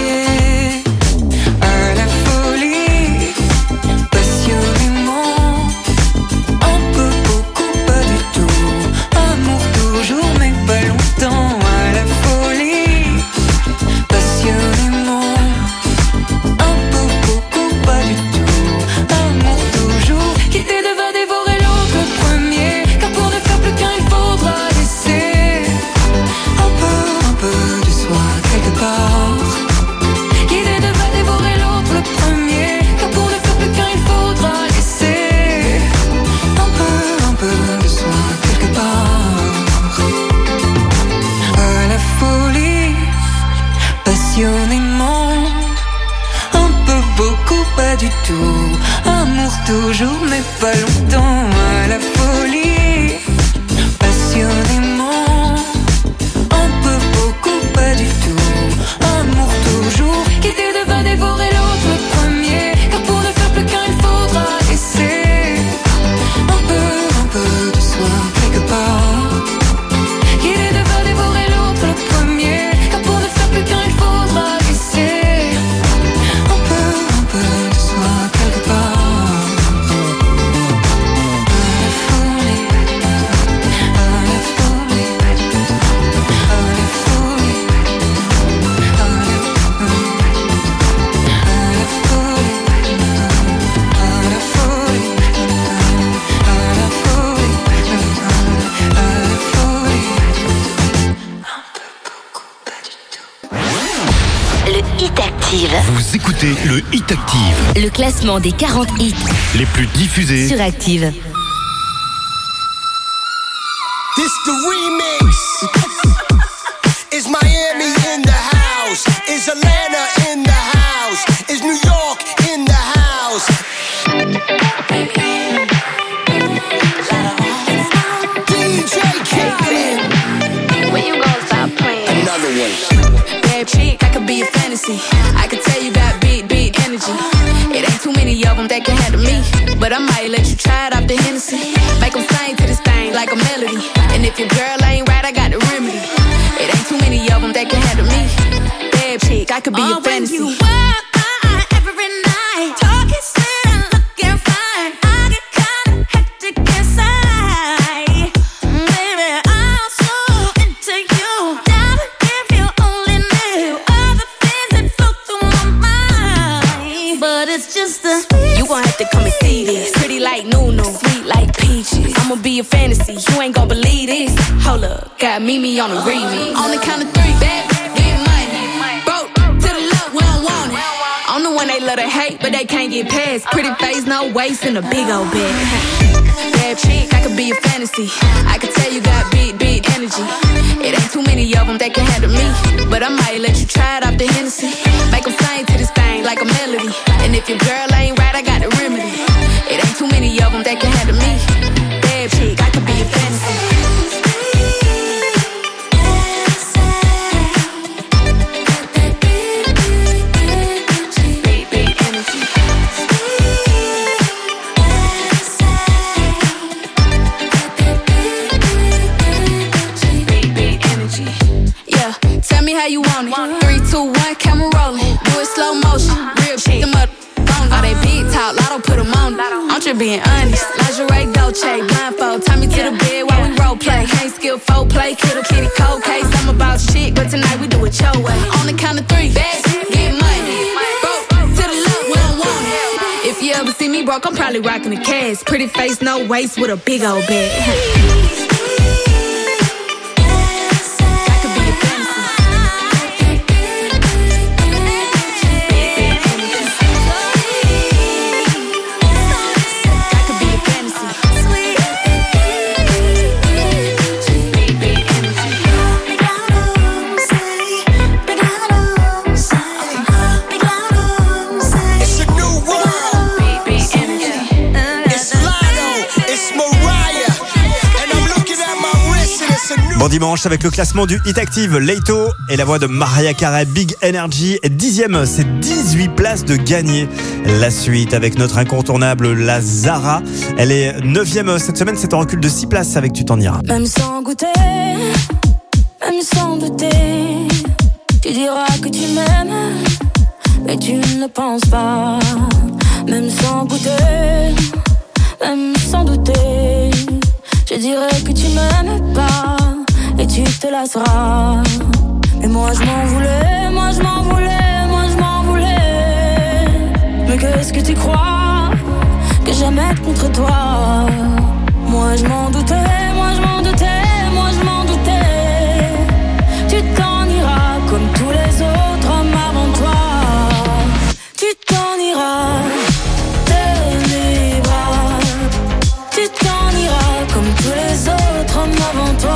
À la folie, passionnément, un peu, beaucoup, pas du tout. Amour toujours mais pas longtemps. À la folie, passionnément, un peu, beaucoup, pas du tout. Amour toujours, quitter de va dévorer l'autre le premier. Car pour ne faire plus qu'un il faudra laisser un peu de soi quelque part. Quitter de va dévorer l'autre le premier. Car pour ne faire plus qu'un il faudra laisser un peu de soi quelque part. À la folie, passionnément, un peu, beaucoup, pas du tout. Amour toujours mais pas longtemps. À la folie, passionnément, un peu, beaucoup, pas du tout. Amour toujours, quitter de va dévorer l'autre le premier. Car pour ne faire plus qu'un il faudra laisser un peu de soi quelque part. Quitter de va dévorer l'autre le premier. Car pour ne faire plus qu'un il faudra laisser un peu de soi quelque part. Le Hit Active. Vous écoutez le Hit Active, Le classement des 40 hits les plus diffusés sur Active. This the remix. Is Miami in the house? Is Atlanta in the house? Is New York in the house? DJ Khaled. When you gonna stop playing? Another one. Bad chick, I could be a fantasy. I could tell you got big energy. It ain't too many of them that can handle me. But I might let you try it off the Hennessy. Make them sing to this thing like a melody. And if your girl ain't right, I got the remedy. It ain't too many of them that can handle me. Bad chick, I could be a fantasy. When you walk by every night, talking sweet and looking fine, I get kinda hectic inside. that's just a You gon' have to come and see this. Pretty like Nunu, sweet like peaches. I'ma be a fantasy, you ain't gon' believe this. Hold up, got Mimi on the remix. On the count of three, bad, get money. Broke to the left, we don't want it. I'm the one they love to hate, but they can't get past. Pretty face, no waist, and a big old bag. Bad chick, I could be a fantasy. I could tell you got big, big energy. It ain't too many of them that can handle me, but I might let you try it off the Hennessy. Make them sing to this thing like a melody. And if your girl ain't right, I got the remedy. It ain't too many of them that can handle me. Bad chick, I could be a fantasy. How you want it? 3, 2, 1, camera rolling. Do it slow motion. Real shit. Them up on all they big talk. Lotto put them on. I'm just being honest. Lingerie, Dolce, blindfold. Tie me to the bed while we role play. Ain't skill, folk play. Kittle, kitty, cold case. I'm about shit, but tonight we do it your way. On the count of 3, bad, get money. Broke to the left, we don't want it. If you ever see me broke, I'm probably rocking the cash. Pretty face, no waist, with a big old bag. Bon dimanche avec le classement du Hit Active, Leito et la voix de Mariah Carey, Big Energy. 10e, c'est 18 places de gagner. La suite avec notre incontournable, la Zara. Elle est 9e cette semaine, c'est en recul de 6 places avec Tu t'en iras. Même sans goûter, même sans douter, tu diras que tu m'aimes, mais tu ne penses pas. Même sans goûter, même sans douter, je dirais que tu m'aimes pas et tu te lasseras. Mais moi je m'en voulais, moi je m'en voulais, moi je m'en voulais. Mais qu'est-ce que tu crois que j'aimais contre toi? Moi je m'en doutais, moi je m'en doutais, moi je m'en doutais. Tu t'en iras comme tous les autres hommes avant toi. Tu t'en iras de mes bras. Tu t'en iras comme tous les autres hommes avant toi.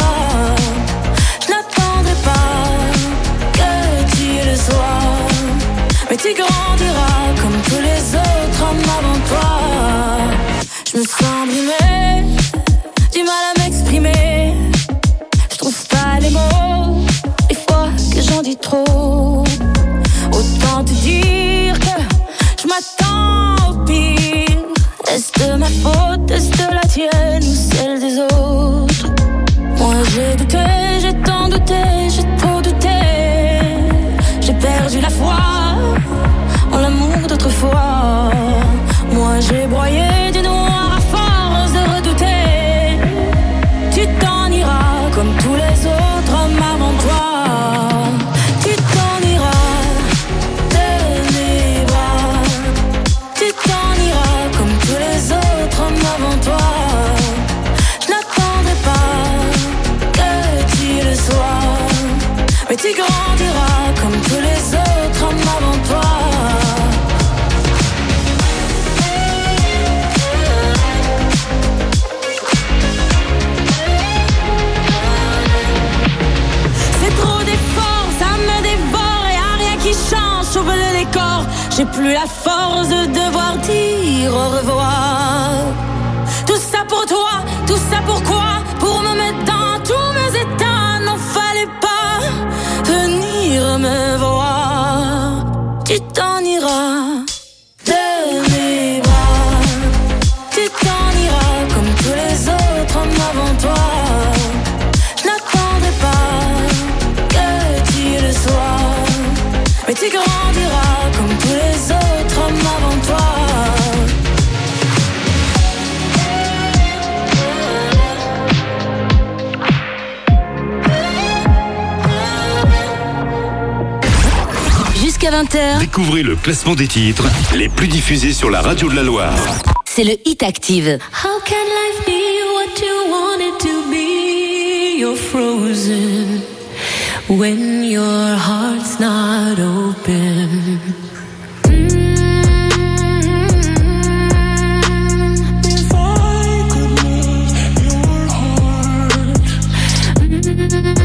Je n'attendrai pas que tu le sois, mais tu grandiras comme tous les autres hommes avant toi. Je me sens brimée, du mal à m'exprimer. Je trouve pas les mots, des fois que j'en dis trop. Autant te dire que je m'attends au pire. Est-ce de ma faute, est-ce de la tienne ou celle des autres? Moi j'ai douté, j'ai tant douté, j'ai trop douté. J'ai perdu la foi en l'amour d'autrefois. Moi j'ai broyé du noir à force de redouter. Tu t'en iras comme tous les autres hommes avant toi. Tu t'en iras de mes bras. Tu t'en iras comme tous les autres hommes avant toi. Je n'attendrai pas que tu le sois, mais tu grandiras comme tous les autres hommes avant toi. Sauve le décor, j'ai plus la force de devoir dire au revoir. Tout ça pour toi, tout ça pourquoi? Pour me mettre dans tous mes états, n'en fallait pas venir me voir. Tu t'en iras de mes bras. Tu t'en iras comme tous les autres hommes avant toi. Je n'attendrai pas que tu le sois, mais tu grandiras comme tous les autres hommes avant toi. Jusqu'à Jusqu'à 20h, Découvrez le classement des titres les plus diffusés sur la radio de la Loire. c'est le Hit Active. How can life be what you want it to be? You're frozen when your heart's not open. If I could move your heart, we'd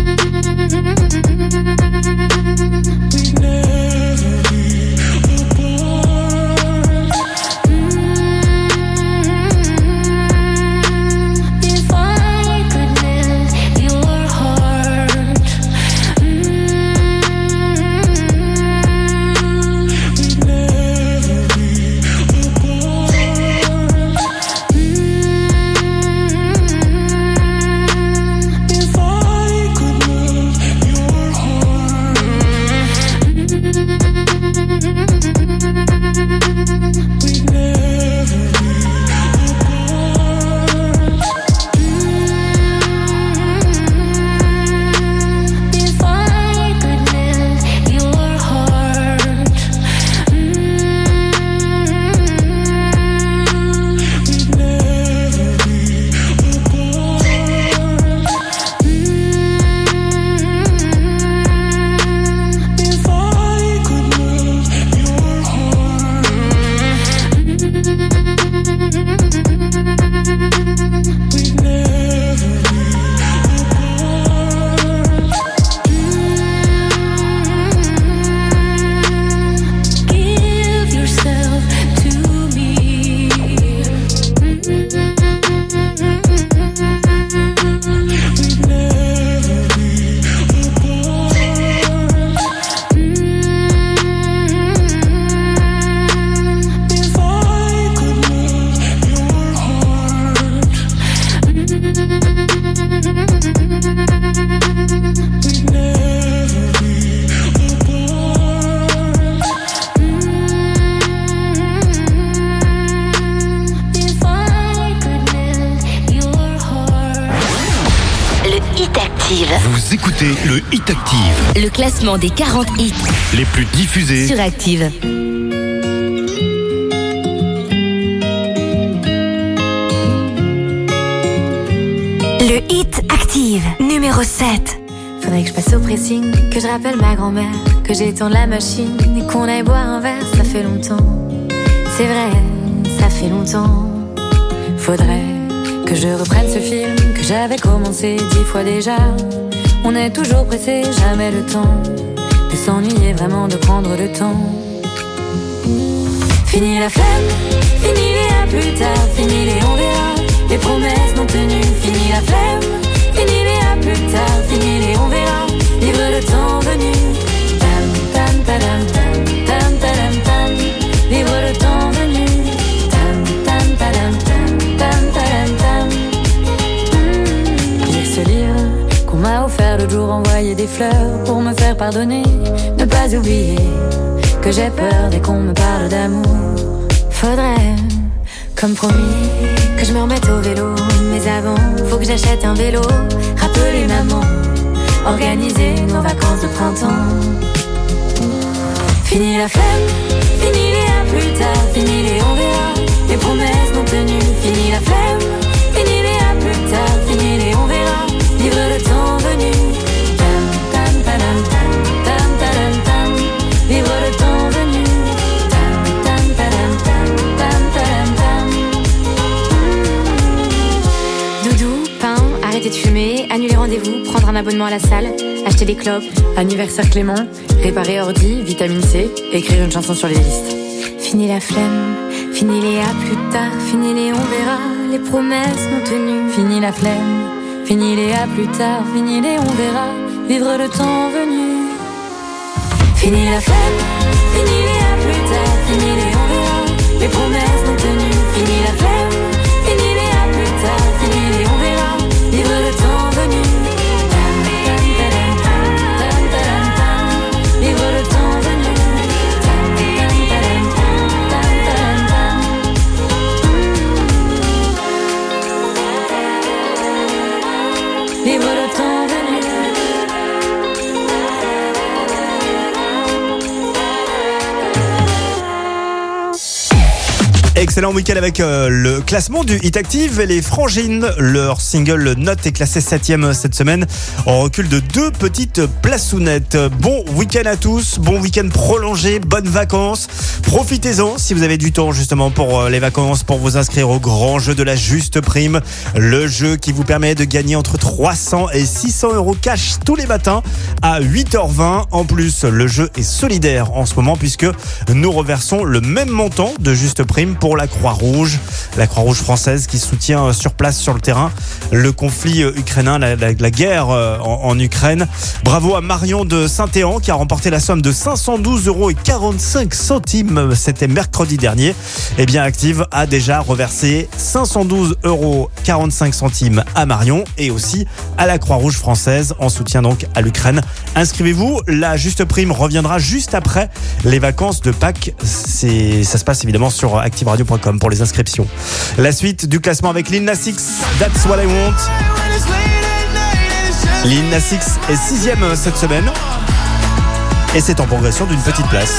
never be apart. If I could melt your heart, we'd never be apart. If I could melt your heart, we'd never be if I could melt your heart, we'd never be apart. If I could melt your heart, we'd never be give yourself to me. We'd never be apart. If I could melt your heart, we'd never be apart. If I could melt your heart. Le Hit Active, Vous écoutez le Hit Active, le classement des 40 hits les plus diffusés. sur Active. Le Hit Active, numéro 7. Faudrait que je passe au pressing, que je rappelle ma grand-mère, que j'étende la machine et qu'on aille boire un verre, ça fait longtemps. C'est vrai, ça fait longtemps. Faudrait que je reprenne ce film que j'avais commencé 10 fois déjà. On est toujours pressé, jamais le temps de s'ennuyer, vraiment de prendre le temps. Fini la flemme, fini les à plus tard, fini les on verra, les promesses non tenues. Fini la flemme, fini les à plus tard, fini les on verra, vivre le temps venu. Tam tam tadam tam tam tadam tam, vivre le temps venu. Tam tam tadam tam tam tadam tam. Lire ce livre qu'on m'a offert l'autre jour, envoyer des fleurs pour me faire pardonner, ne pas oublier que j'ai peur dès qu'on me parle d'amour. Faudrait, comme promis, que je me remette au vélo. Mais avant, faut que j'achète un vélo. Rappeler maman, organiser nos vacances de printemps. Fini la flemme, fini les à plus tard, fini les on verra, les promesses non tenues. Fini la flemme, fini les à plus tard, fini les on verra, vivre le temps venu. Tam tam tadam tam tam tadam tam, vivre le temps venu. Tam tam tadam tam tam tadam tam. Doudou, pain, arrêter de fumer, annuler rendez-vous, prendre un abonnement à la salle, acheter des clopes, anniversaire Clément, réparer ordi, vitamine C, écrire une chanson sur les listes. Fini la flemme, fini les à plus tard, fini les on verra, les promesses non tenues. Fini la flemme, fini les à plus tard, fini les on verra, vivre le temps venu. Fini la flemme, fini les à plus tard, fini les on verra, les promesses non tenues. Fini la flemme, fini les à plus tard, fini les on verra, vivre le temps venu. Tam tam tadam tam tam tadam tam, vivre le temps venu. Tam tam tadam tam tam tadam tam. Vivre le temps venu. excellent week-end avec le classement du Hit Active et les Frangines. Leur single Note est classé 7e cette semaine en recul de 2 petites plaçounettes. Bon week-end à tous, bon week-end prolongé, bonnes vacances. Profitez-en si vous avez du temps justement pour les vacances, pour vous inscrire au grand jeu de la juste prime. Le jeu qui vous permet de gagner entre 300 et 600 euros cash tous les matins à 8h20. En plus, le jeu est solidaire en ce moment puisque nous reversons le même montant de juste prime pour la Croix-Rouge française qui soutient sur place, sur le terrain, le conflit ukrainien, la guerre en Ukraine. Bravo à Marion de Saint-Éan qui a remporté la somme de 512,45 €. C'était mercredi dernier. Eh bien, Active a déjà reversé 512,45 € à Marion et aussi à la Croix-Rouge française en soutien donc à l'Ukraine. Inscrivez-vous, la juste prime reviendra juste après les vacances de Pâques. Ça se passe évidemment sur activeradio.com pour les inscriptions. La suite du classement avec Lil Nas X, That's What I Want. Lil Nas X est 6e cette semaine et c'est en progression d'une petite place.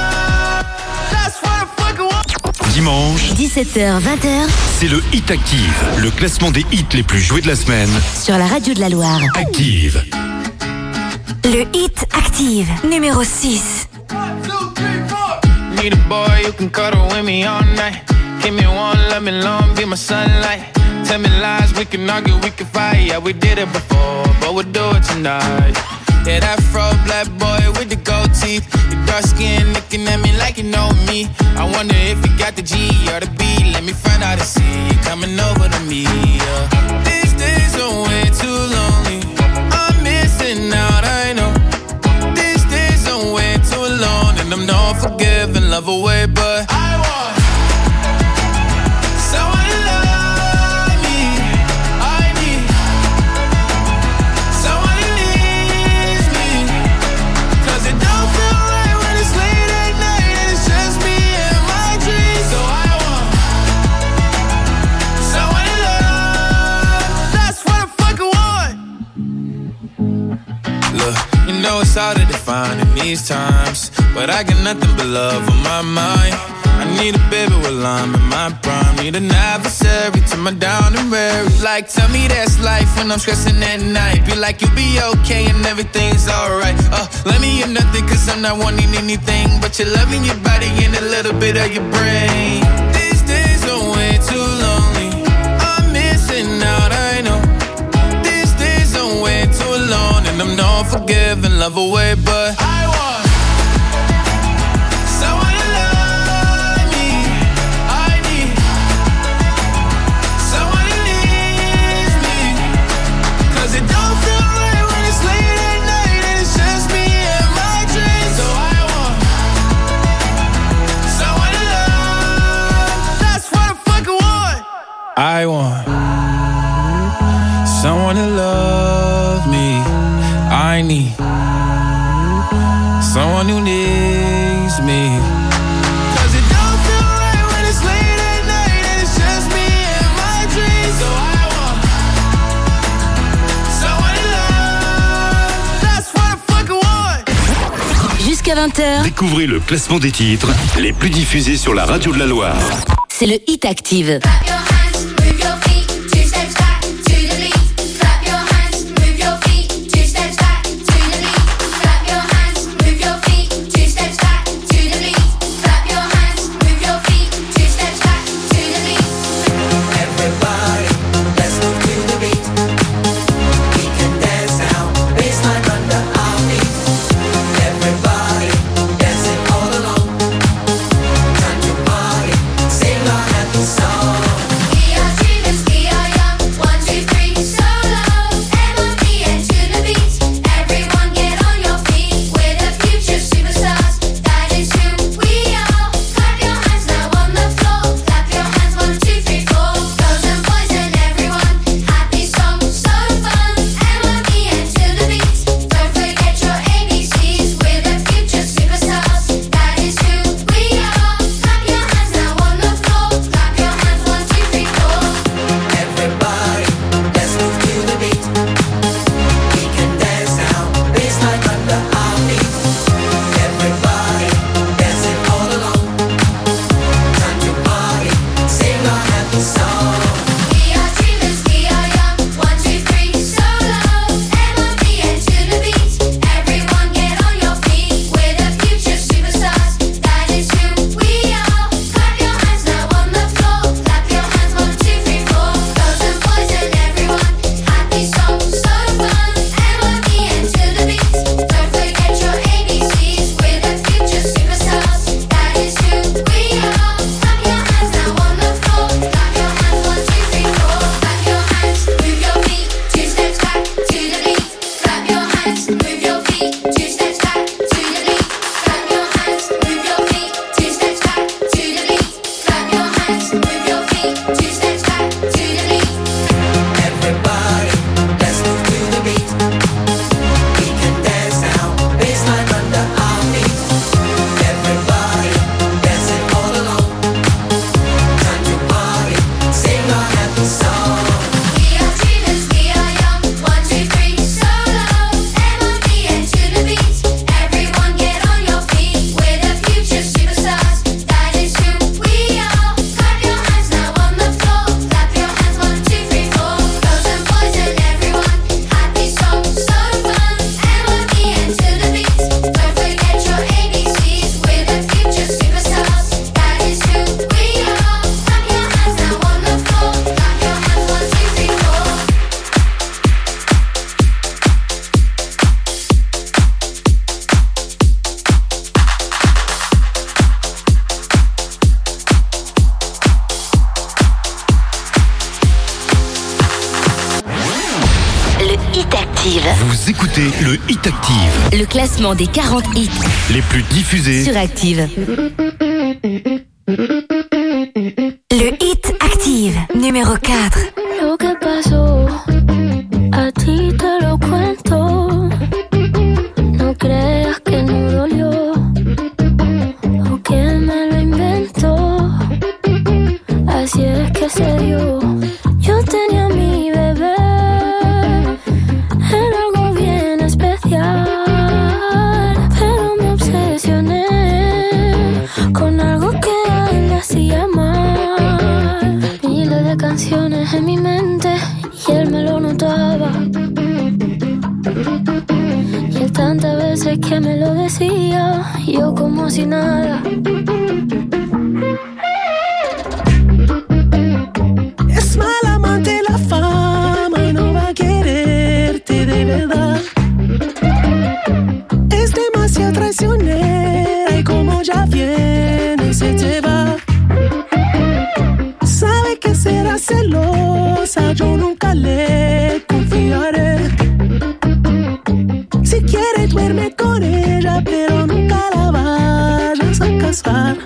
Dimanche, 17h, 20h, c'est le Hit Active, le classement des hits les plus joués de la semaine. sur la radio de la Loire. Active. Le Hit Active, numéro 6. Need a boy who can cuddle with me all night. Give me one, let me long, be my sunlight. Tell me lies, we can argue, we can fight. Yeah, we did it before, but we'll do it tonight. Yeah, that fro black boy with the gold teeth. Your dark skin looking at me like you know me. I wonder if you got the G or the B. Let me find out and see you coming over to me. Yeah. These days are way too lonely. I'm missing out, I know. These days are way too alone, and I'm not forgiving, love away, but I want someone to love me. I need someone who needs me. 'Cause it don't feel right when it's late at night and it's just me and my dreams. So I want someone to love. That's what I fucking want. Look, you know it's hard to define in these times, but I got nothing but love on my mind. I need a baby while I'm in my prime. Need an adversary to my down and weary. Like, tell me that's life when I'm stressing at night. Be like, you'll be okay and everything's alright. Let me hear nothing 'cause I'm not wanting anything but your love in your body and a little bit of your brain. These days are way too lonely. I'm missing out, I know. These days are way too alone, and I'm not forgiving, love away, but I want someone to love me. I need someone who needs me. 'Cause it don't feel right when it's late at night and it's just me and my dreams. So I want someone to love. That's what I fucking want. I want someone to love me. I need someone who needs me. 'Cause it don't feel right when it's late at night and it's just me and my dreams. So I want someone to love. That's what I fucking want. Jusqu'à 20h, Découvrez le classement des titres les plus diffusés sur la radio de la Loire. c'est le Hit Active. Clap your hands, move your feet, 2 steps back to the beat. Clap your hands, move your feet, 2 steps back to the beat. Clap your hands, move your feet, 2 steps back to the beat. Clap your hands, move your feet, 2 steps back to the beat. Everybody, let's move to the beat. We can dance now, baseline under our feet. Everybody, dancing all along. Time to party, sing our happy song. Le Hit Active. Le classement des 40 hits Les plus diffusés sur Active. Le Hit Active, numéro 4. Lo que pasó, a ti te lo cuento. No creas que no dolió o que me lo inventó. Así es que se dio. Yo tenía a mi bebé, era algo bien especial, pero me obsesioné con algo que a él le hacía mal. Miles de canciones en mi mente y él me lo notaba. Y él tantas veces que me lo decía, yo como si nada. Es mal amante la fama y no va a quererte de verdad. Es demasiado traicionera y como ya viene se te va. Sabe que será celosa, yo nunca le confiaré. Si quiere duerme con ella, pero nunca la vayas a casar.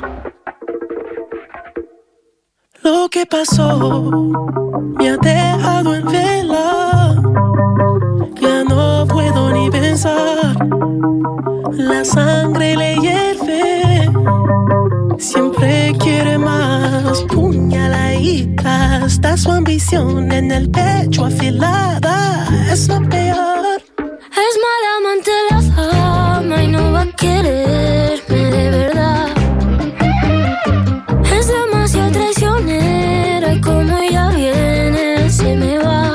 Lo que pasó me ha dejado en vela. Ya no puedo ni pensar. La sangre le hierve. Siempre quiere más. Puñaladita. Está su ambición en el pecho afilada. Es lo peor. Es mala amante la fama y no va a quererme de verdad. Es demasiado traicionera y como ella viene se me va.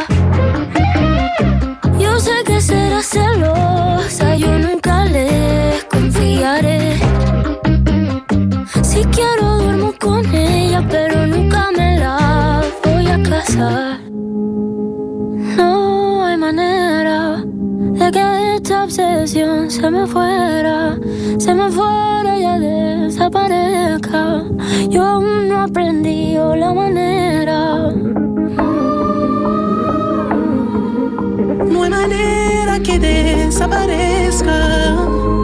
Yo sé que será celosa, yo nunca le confiaré. Si quiero duermo con ella, pero nunca me la voy a casar. No hay manera de que esta obsesión se me fuera y ya desaparezca. Yo aún no aprendí la manera. No hay manera que desaparezca.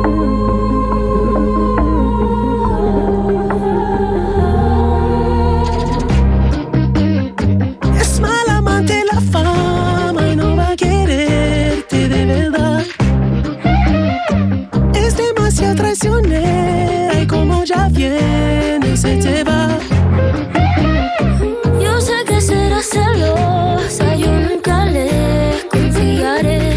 Es mal amante la fama y no va a quererte de verdad. Es demasiado traicionera y como ya viene se te va. Yo sé que será celosa, yo nunca le confiaré.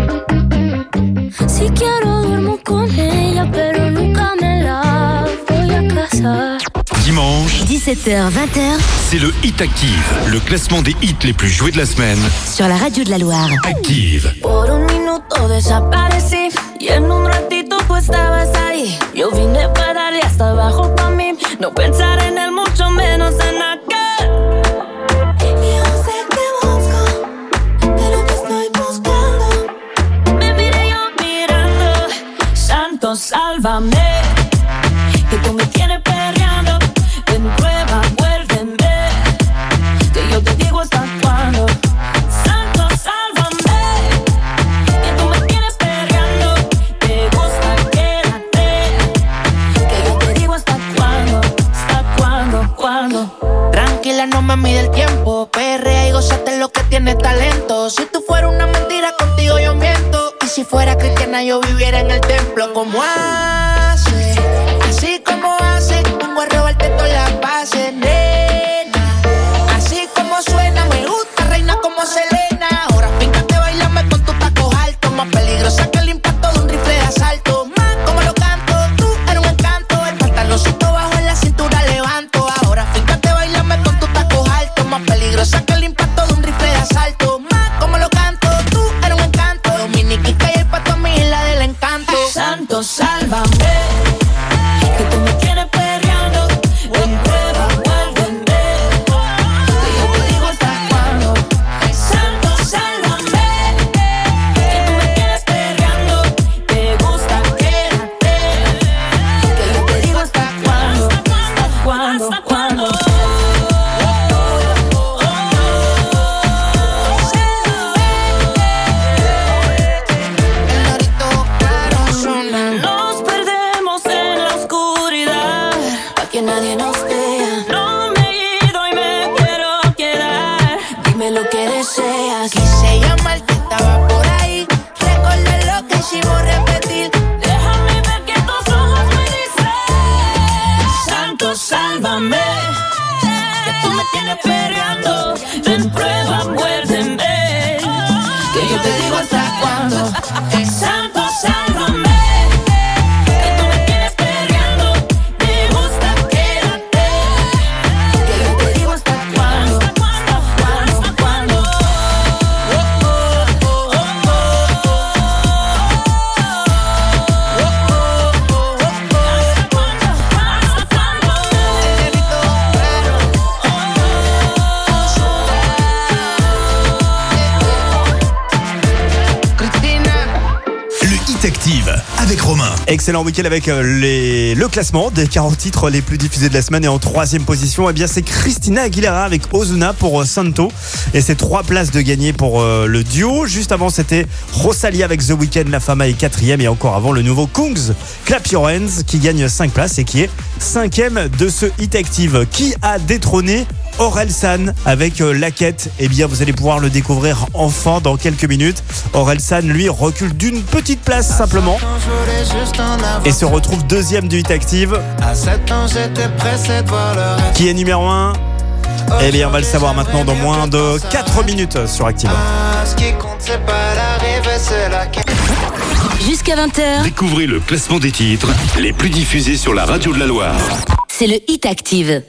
Si quiero duermo con ella, pero nunca me la voy a casar. Dimanche, 17h-20h c'est le Hit Active. Le classement des hits les plus joués de la semaine. sur la radio de la Loire. Active. Por un minuto desaparecí y en un ratito tú estabas ahí. Yo vine para darle hasta abajo pa' mí, no pensar en él, mucho menos en aquel. Yo sé que busco, pero te estoy buscando. Me miré yo mirando, santo sálvame, que tú me tienes perreando. Ven prueba, vuélveme, que yo te digo hasta cuándo. Santo sálvame, que tú me tienes perreando. Te gusta, quédate, que yo te digo hasta cuándo. Tranquila, no me mide el tiempo. Perrea y gózate lo que tiene talento. Si tú fueras una mentira, contigo yo miento. Y si fuera cristiana, yo viviera en el templo. Como hace, así como hace, vengo a robarte todas las bases, nena. Así como suena, me gusta, reina como Selena. Ahora fíjate, bailame con tus tacos altos. Más peligrosa que el impacto de un rifle de asalto. Más como lo canto, tú eres un encanto. El pantaloncito bajo en la cintura levanto. Ahora fíjate, bailame con tus tacos altos. Más peligrosa que el impacto de un rifle de asalto. Más como lo canto, tú eres un encanto. Dominiquita y el pato a mí la del encanto. Santo sálvame, que tú me tienes perreando. Ven prueba, vuélveme, que yo te digo hasta cuándo. Santo sálvame, que tú me tienes perreando. Te gusta, quédate, que yo te digo hasta cuándo. Hasta cuándo. Excellent week-end avec le classement des 40 titres les plus diffusés de la semaine. Et en 3e position, eh bien, c'est Christina Aguilera avec Ozuna pour Santo. Et c'est 3 places de gagné pour le duo. Juste avant, c'était Rosalia avec The Weeknd, La Fama est 4e. Et encore avant, le nouveau Kungs, Clap Your Hands, qui gagne 5 places et qui est 5e de ce Hit Active. Qui a détrôné Orelsan avec La Quête? Eh bien, vous allez pouvoir le découvrir enfin dans quelques minutes. Orelsan, lui, recule d'une petite place simplement et se retrouve 2e du Hit Active. À 7 ans, j'étais pressé de voir le reste. Qui est numéro 1? Eh bien, on va le savoir maintenant dans moins de 4 minutes sur Active. Ce qui compte, c'est pas l'arrivée, c'est la quête. Jusqu'à 20h, Découvrez le classement des titres les plus diffusés sur la radio de la Loire. c'est le Hit Active.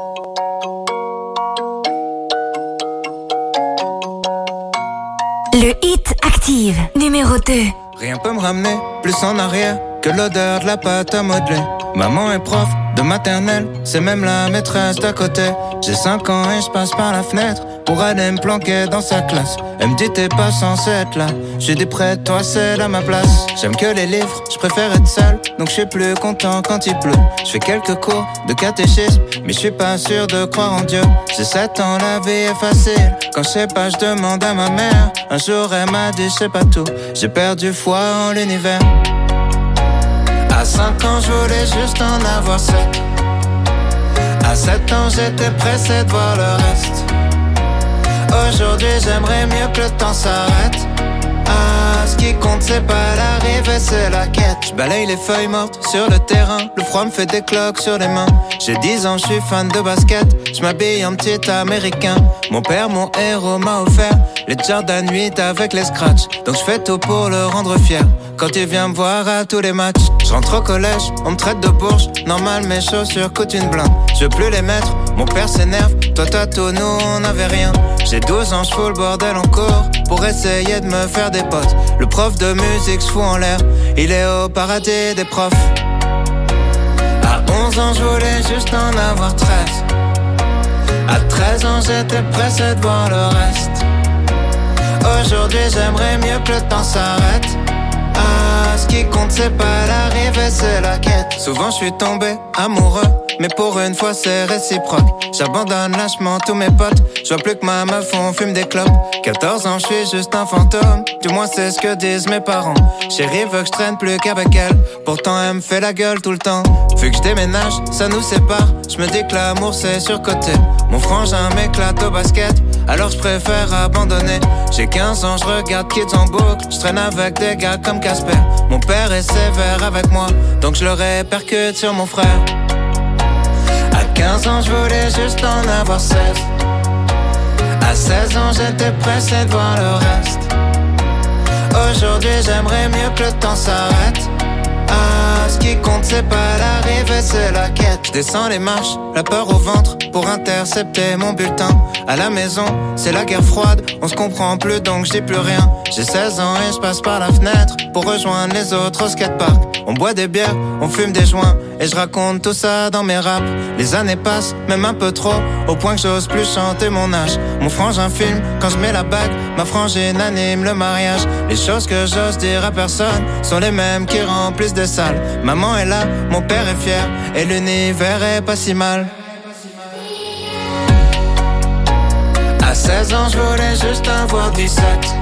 Le Hit Active, numéro 2. Rien peut me ramener plus en arrière que l'odeur de la pâte à modeler. Maman est prof de maternelle, c'est même la maîtresse d'à côté. J'ai 5 ans et je passe par la fenêtre pour aller me planquer dans sa classe. Elle me dit t'es pas censé être là. J'ai dit près de toi c'est à ma place. J'aime que les livres, je préfère être seul, donc je suis plus content quand il pleut. Je fais quelques cours de catéchisme, mais je suis pas sûr de croire en Dieu. J'ai 7 ans, la vie est facile. Quand je sais pas, je demande à ma mère. Un jour elle m'a dit je sais pas tout. J'ai perdu foi en l'univers. À 5 ans, je voulais juste en avoir 7. À 7 ans, j'étais pressé de voir le reste. Aujourd'hui, j'aimerais mieux que le temps s'arrête. Ah, ce qui compte, c'est pas l'arrivée, c'est la quête. Je balaye les feuilles mortes sur le terrain. Le froid me fait des cloques sur les mains. J'ai 10 ans, je suis fan de basket. Je m'habille en petit américain. Mon père, mon héros, m'a offert les Jordan 8 avec les scratchs. Donc je fais tout pour le rendre fier. Quand il vient me voir à tous les matchs, je rentre au collège, on me traite de bourge. Normal, mes chaussures coûtent une blinde. Je veux plus les mettre, mon père s'énerve. Toi t'as tout, nous on avait rien. J'ai 12 ans, je fous le bordel en cours pour essayer de me faire des potes. Le prof de musique se fout en l'air, il est au paradis des profs. À 11 ans, je voulais juste en avoir 13. À 13 ans, j'étais pressé de voir le reste. Aujourd'hui, j'aimerais mieux que le temps s'arrête. Ah, ce qui compte, c'est pas l'arrivée, c'est la quête. Souvent, je suis tombé amoureux, mais pour une fois, c'est réciproque. J'abandonne lâchement tous mes potes. Je vois plus que ma meuf, on fume des clopes. 14 ans, je suis juste un fantôme. Du moins, c'est ce que disent mes parents. Chérie veut que je traîne plus qu'avec elle. Pourtant, elle me fait la gueule tout le temps. Vu que je déménage, ça nous sépare. Je me dis que l'amour, c'est surcoté. Mon frangin m'éclate au basket, alors je préfère abandonner. J'ai 15 ans, je regarde Kids en boucle. Je traîne avec des gars comme Casper. Mon père est sévère avec moi, donc je le répercute sur mon frère. À 15 ans, je voulais juste en avoir 16. À 16 ans, j'étais pressé de voir le reste. Aujourd'hui, j'aimerais mieux que le temps s'arrête. Ah, ce qui compte, c'est pas l'arrivée, c'est la quête. Je descends les marches, la peur au ventre, pour intercepter mon bulletin. À la maison, c'est la guerre froide, on se comprend plus donc je dis plus rien. J'ai 16 ans et je passe par la fenêtre pour rejoindre les autres au skatepark. On boit des bières, on fume des joints et je raconte tout ça dans mes raps. Les années passent, même un peu trop, au point que j'ose plus chanter mon âge. Mon frangin filme quand je mets la bague, ma frangine anime le mariage. Les choses que j'ose dire à personne sont les mêmes qui remplissent des salles. Maman est là, mon père est fier et l'univers est pas si mal. À 16 ans, je voulais juste avoir 17.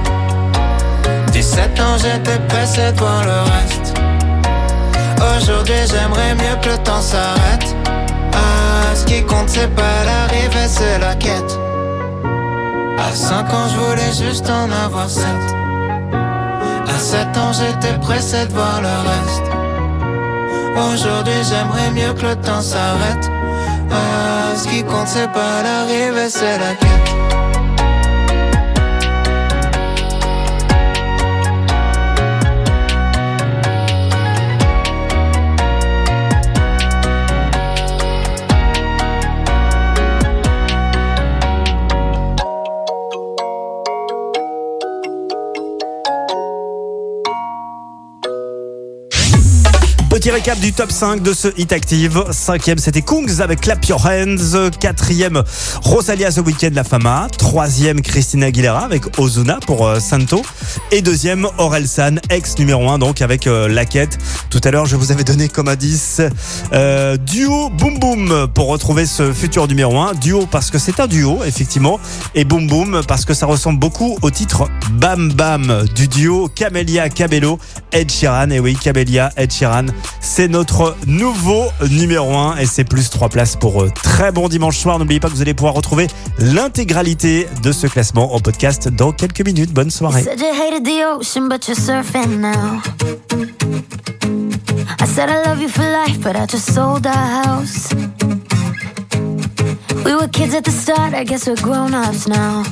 17 ans, j'étais pressé de voir le reste. Aujourd'hui, j'aimerais mieux que le temps s'arrête. Ah, ce qui compte, c'est pas l'arrivée, c'est la quête. À 5 ans, je voulais juste en avoir 7. À 7 ans, j'étais pressé de voir le reste. Aujourd'hui, j'aimerais mieux que le temps s'arrête. Ah, ce qui compte, c'est pas l'arrivée, c'est la quête. Petit récap du top 5 de ce Hit Active. 5e, c'était Kungs avec Clap Your Hands. 4e, Rosalia The Weeknd, La Fama. 3e, Christina Aguilera avec Ozuna pour Santo. Et 2e, Orelsan, ex numéro 1, donc avec La Quête. Tout à l'heure, je vous avais donné comme indice duo Boom Boom pour retrouver ce futur numéro 1. Duo parce que c'est un duo, effectivement. Et Boom Boom parce que ça ressemble beaucoup au titre Bam Bam du duo Camélia Cabello, Ed Sheeran. Et oui, Camélia, Ed Sheeran, c'est notre nouveau numéro 1 et c'est plus 3 places pour eux. Très bon dimanche soir. N'oubliez pas que vous allez pouvoir retrouver l'intégralité de ce classement en podcast dans quelques minutes. Bonne soirée. Said you hated the ocean, but you're surfing now. I said I love you for life, but I just sold our house. We were kids at the start, I guess we're grown-ups now.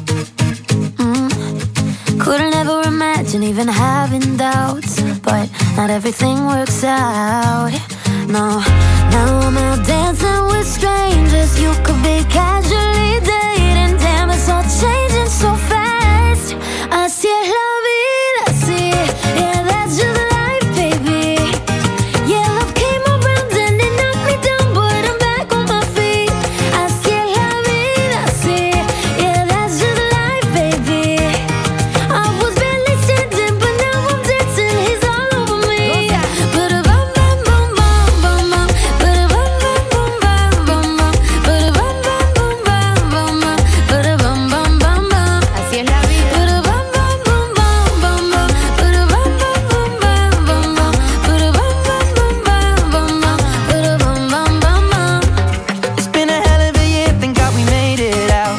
Couldn't ever imagine even having doubts, but not everything works out. No, now I'm out dancing with strangers. You could be casually dating. Damn, it's all changing so fast. Así es la vida, sí. Yeah, that's just life, baby. Yeah, love came around and it knocked me down, but I'm back on my feet. Así es la vida, sí. Yeah, that's just life, baby. I was barely standing, but now I'm dancing. He's all over me. Ba-da-bum, bum, bum, bum, bum, bum. Ba-da-bum, bum, bum, bum, bum, bum. Ba-da-bum, bum, bum, bum, bum, bum. Ba-da-bum, bum, bum, bum. Así es la vida. Ba-da-bum, bum, bum, bum, bum, bum. Ba-da-bum, bum, bum, bum, bum, bum. Ba-da-bum, bum, bum, bum, bum, bum. Ba-da-bum, bum, bum, bum. It's been a hell of a year, thank God we made it out.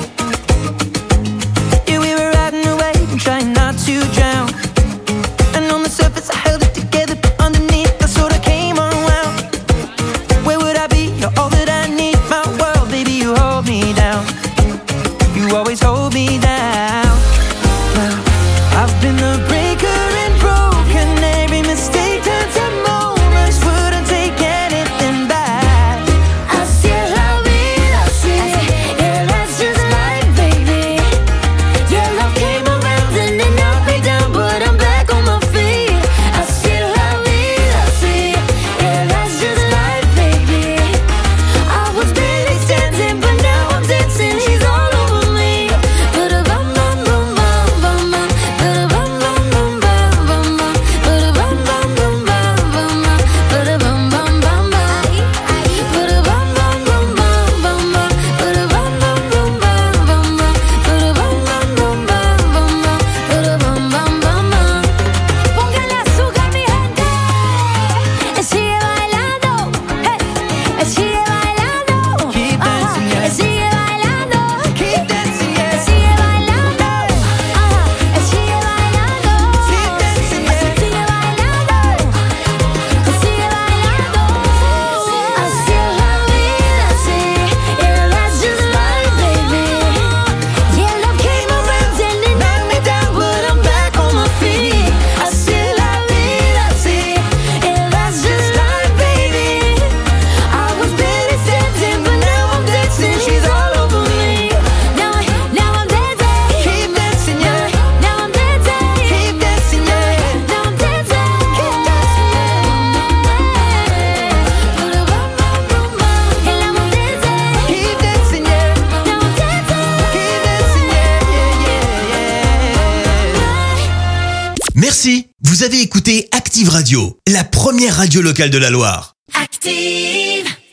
Yeah, we were riding away and trying not to drown. And on the surface I held it together, but underneath I sort of came unwound. Where would I be? You're all that I need. My world, baby, you hold me down. You always hold me down. Well, I've been the breaker and broken. Every mistake turns to moments. Wouldn't take anything back. Así es la vida, sí. Yeah, that's just life, baby. Yeah, love came around and it knocked me down, but I'm back on my feet. Así es la vida, sí. Yeah, that's just life, baby. I was barely standing, but now I'm dancing. He's all over me. Ba-da-bum, bum, bum, bum, bum, bum. Ba-da-bum, bum, bum, bum, bum, bum. Ba-da-bum, bum, bum, bum, bum, bum. Ba-da-bum, bum, bum, bum. Ba-da-bum, bum, bum, bum, bum, bum. Ba-da-bum, bum, bum, bum, bum, bum. Ba-da-bum, bum, bum, bum, bum, bum. Ba-da-bum, bum, bum, bum. Póngale azúcar, mi gente. Sigue bailando. Hey. Sigue bailando. Keep dancing, yeah. Sigue bailando. Keep dancing, yeah. Sigue bailando. Sigue bailando. Keep dancing, yeah. Sigue bailando. Sigue bailando. Así es la vida, sí. Yeah, that's just life, baby. Yeah, love came around and it knocked me down, but I'm back on my feet. Así es la vida, sí. Yeah, that's just life, baby. I was barely standing, but now I'm dancing. She's all over me. Now I'm dancing. Keep dancing, yeah. Now I'm dancing. Keep dancing, yeah. Now I'm dancing. Keep dancing. En la montaña. Keep dancing, yeah. Now I'm dancing. Keep dancing, yeah. Merci. Vous avez écouté Active Radio, la première radio locale de la Loire. Active.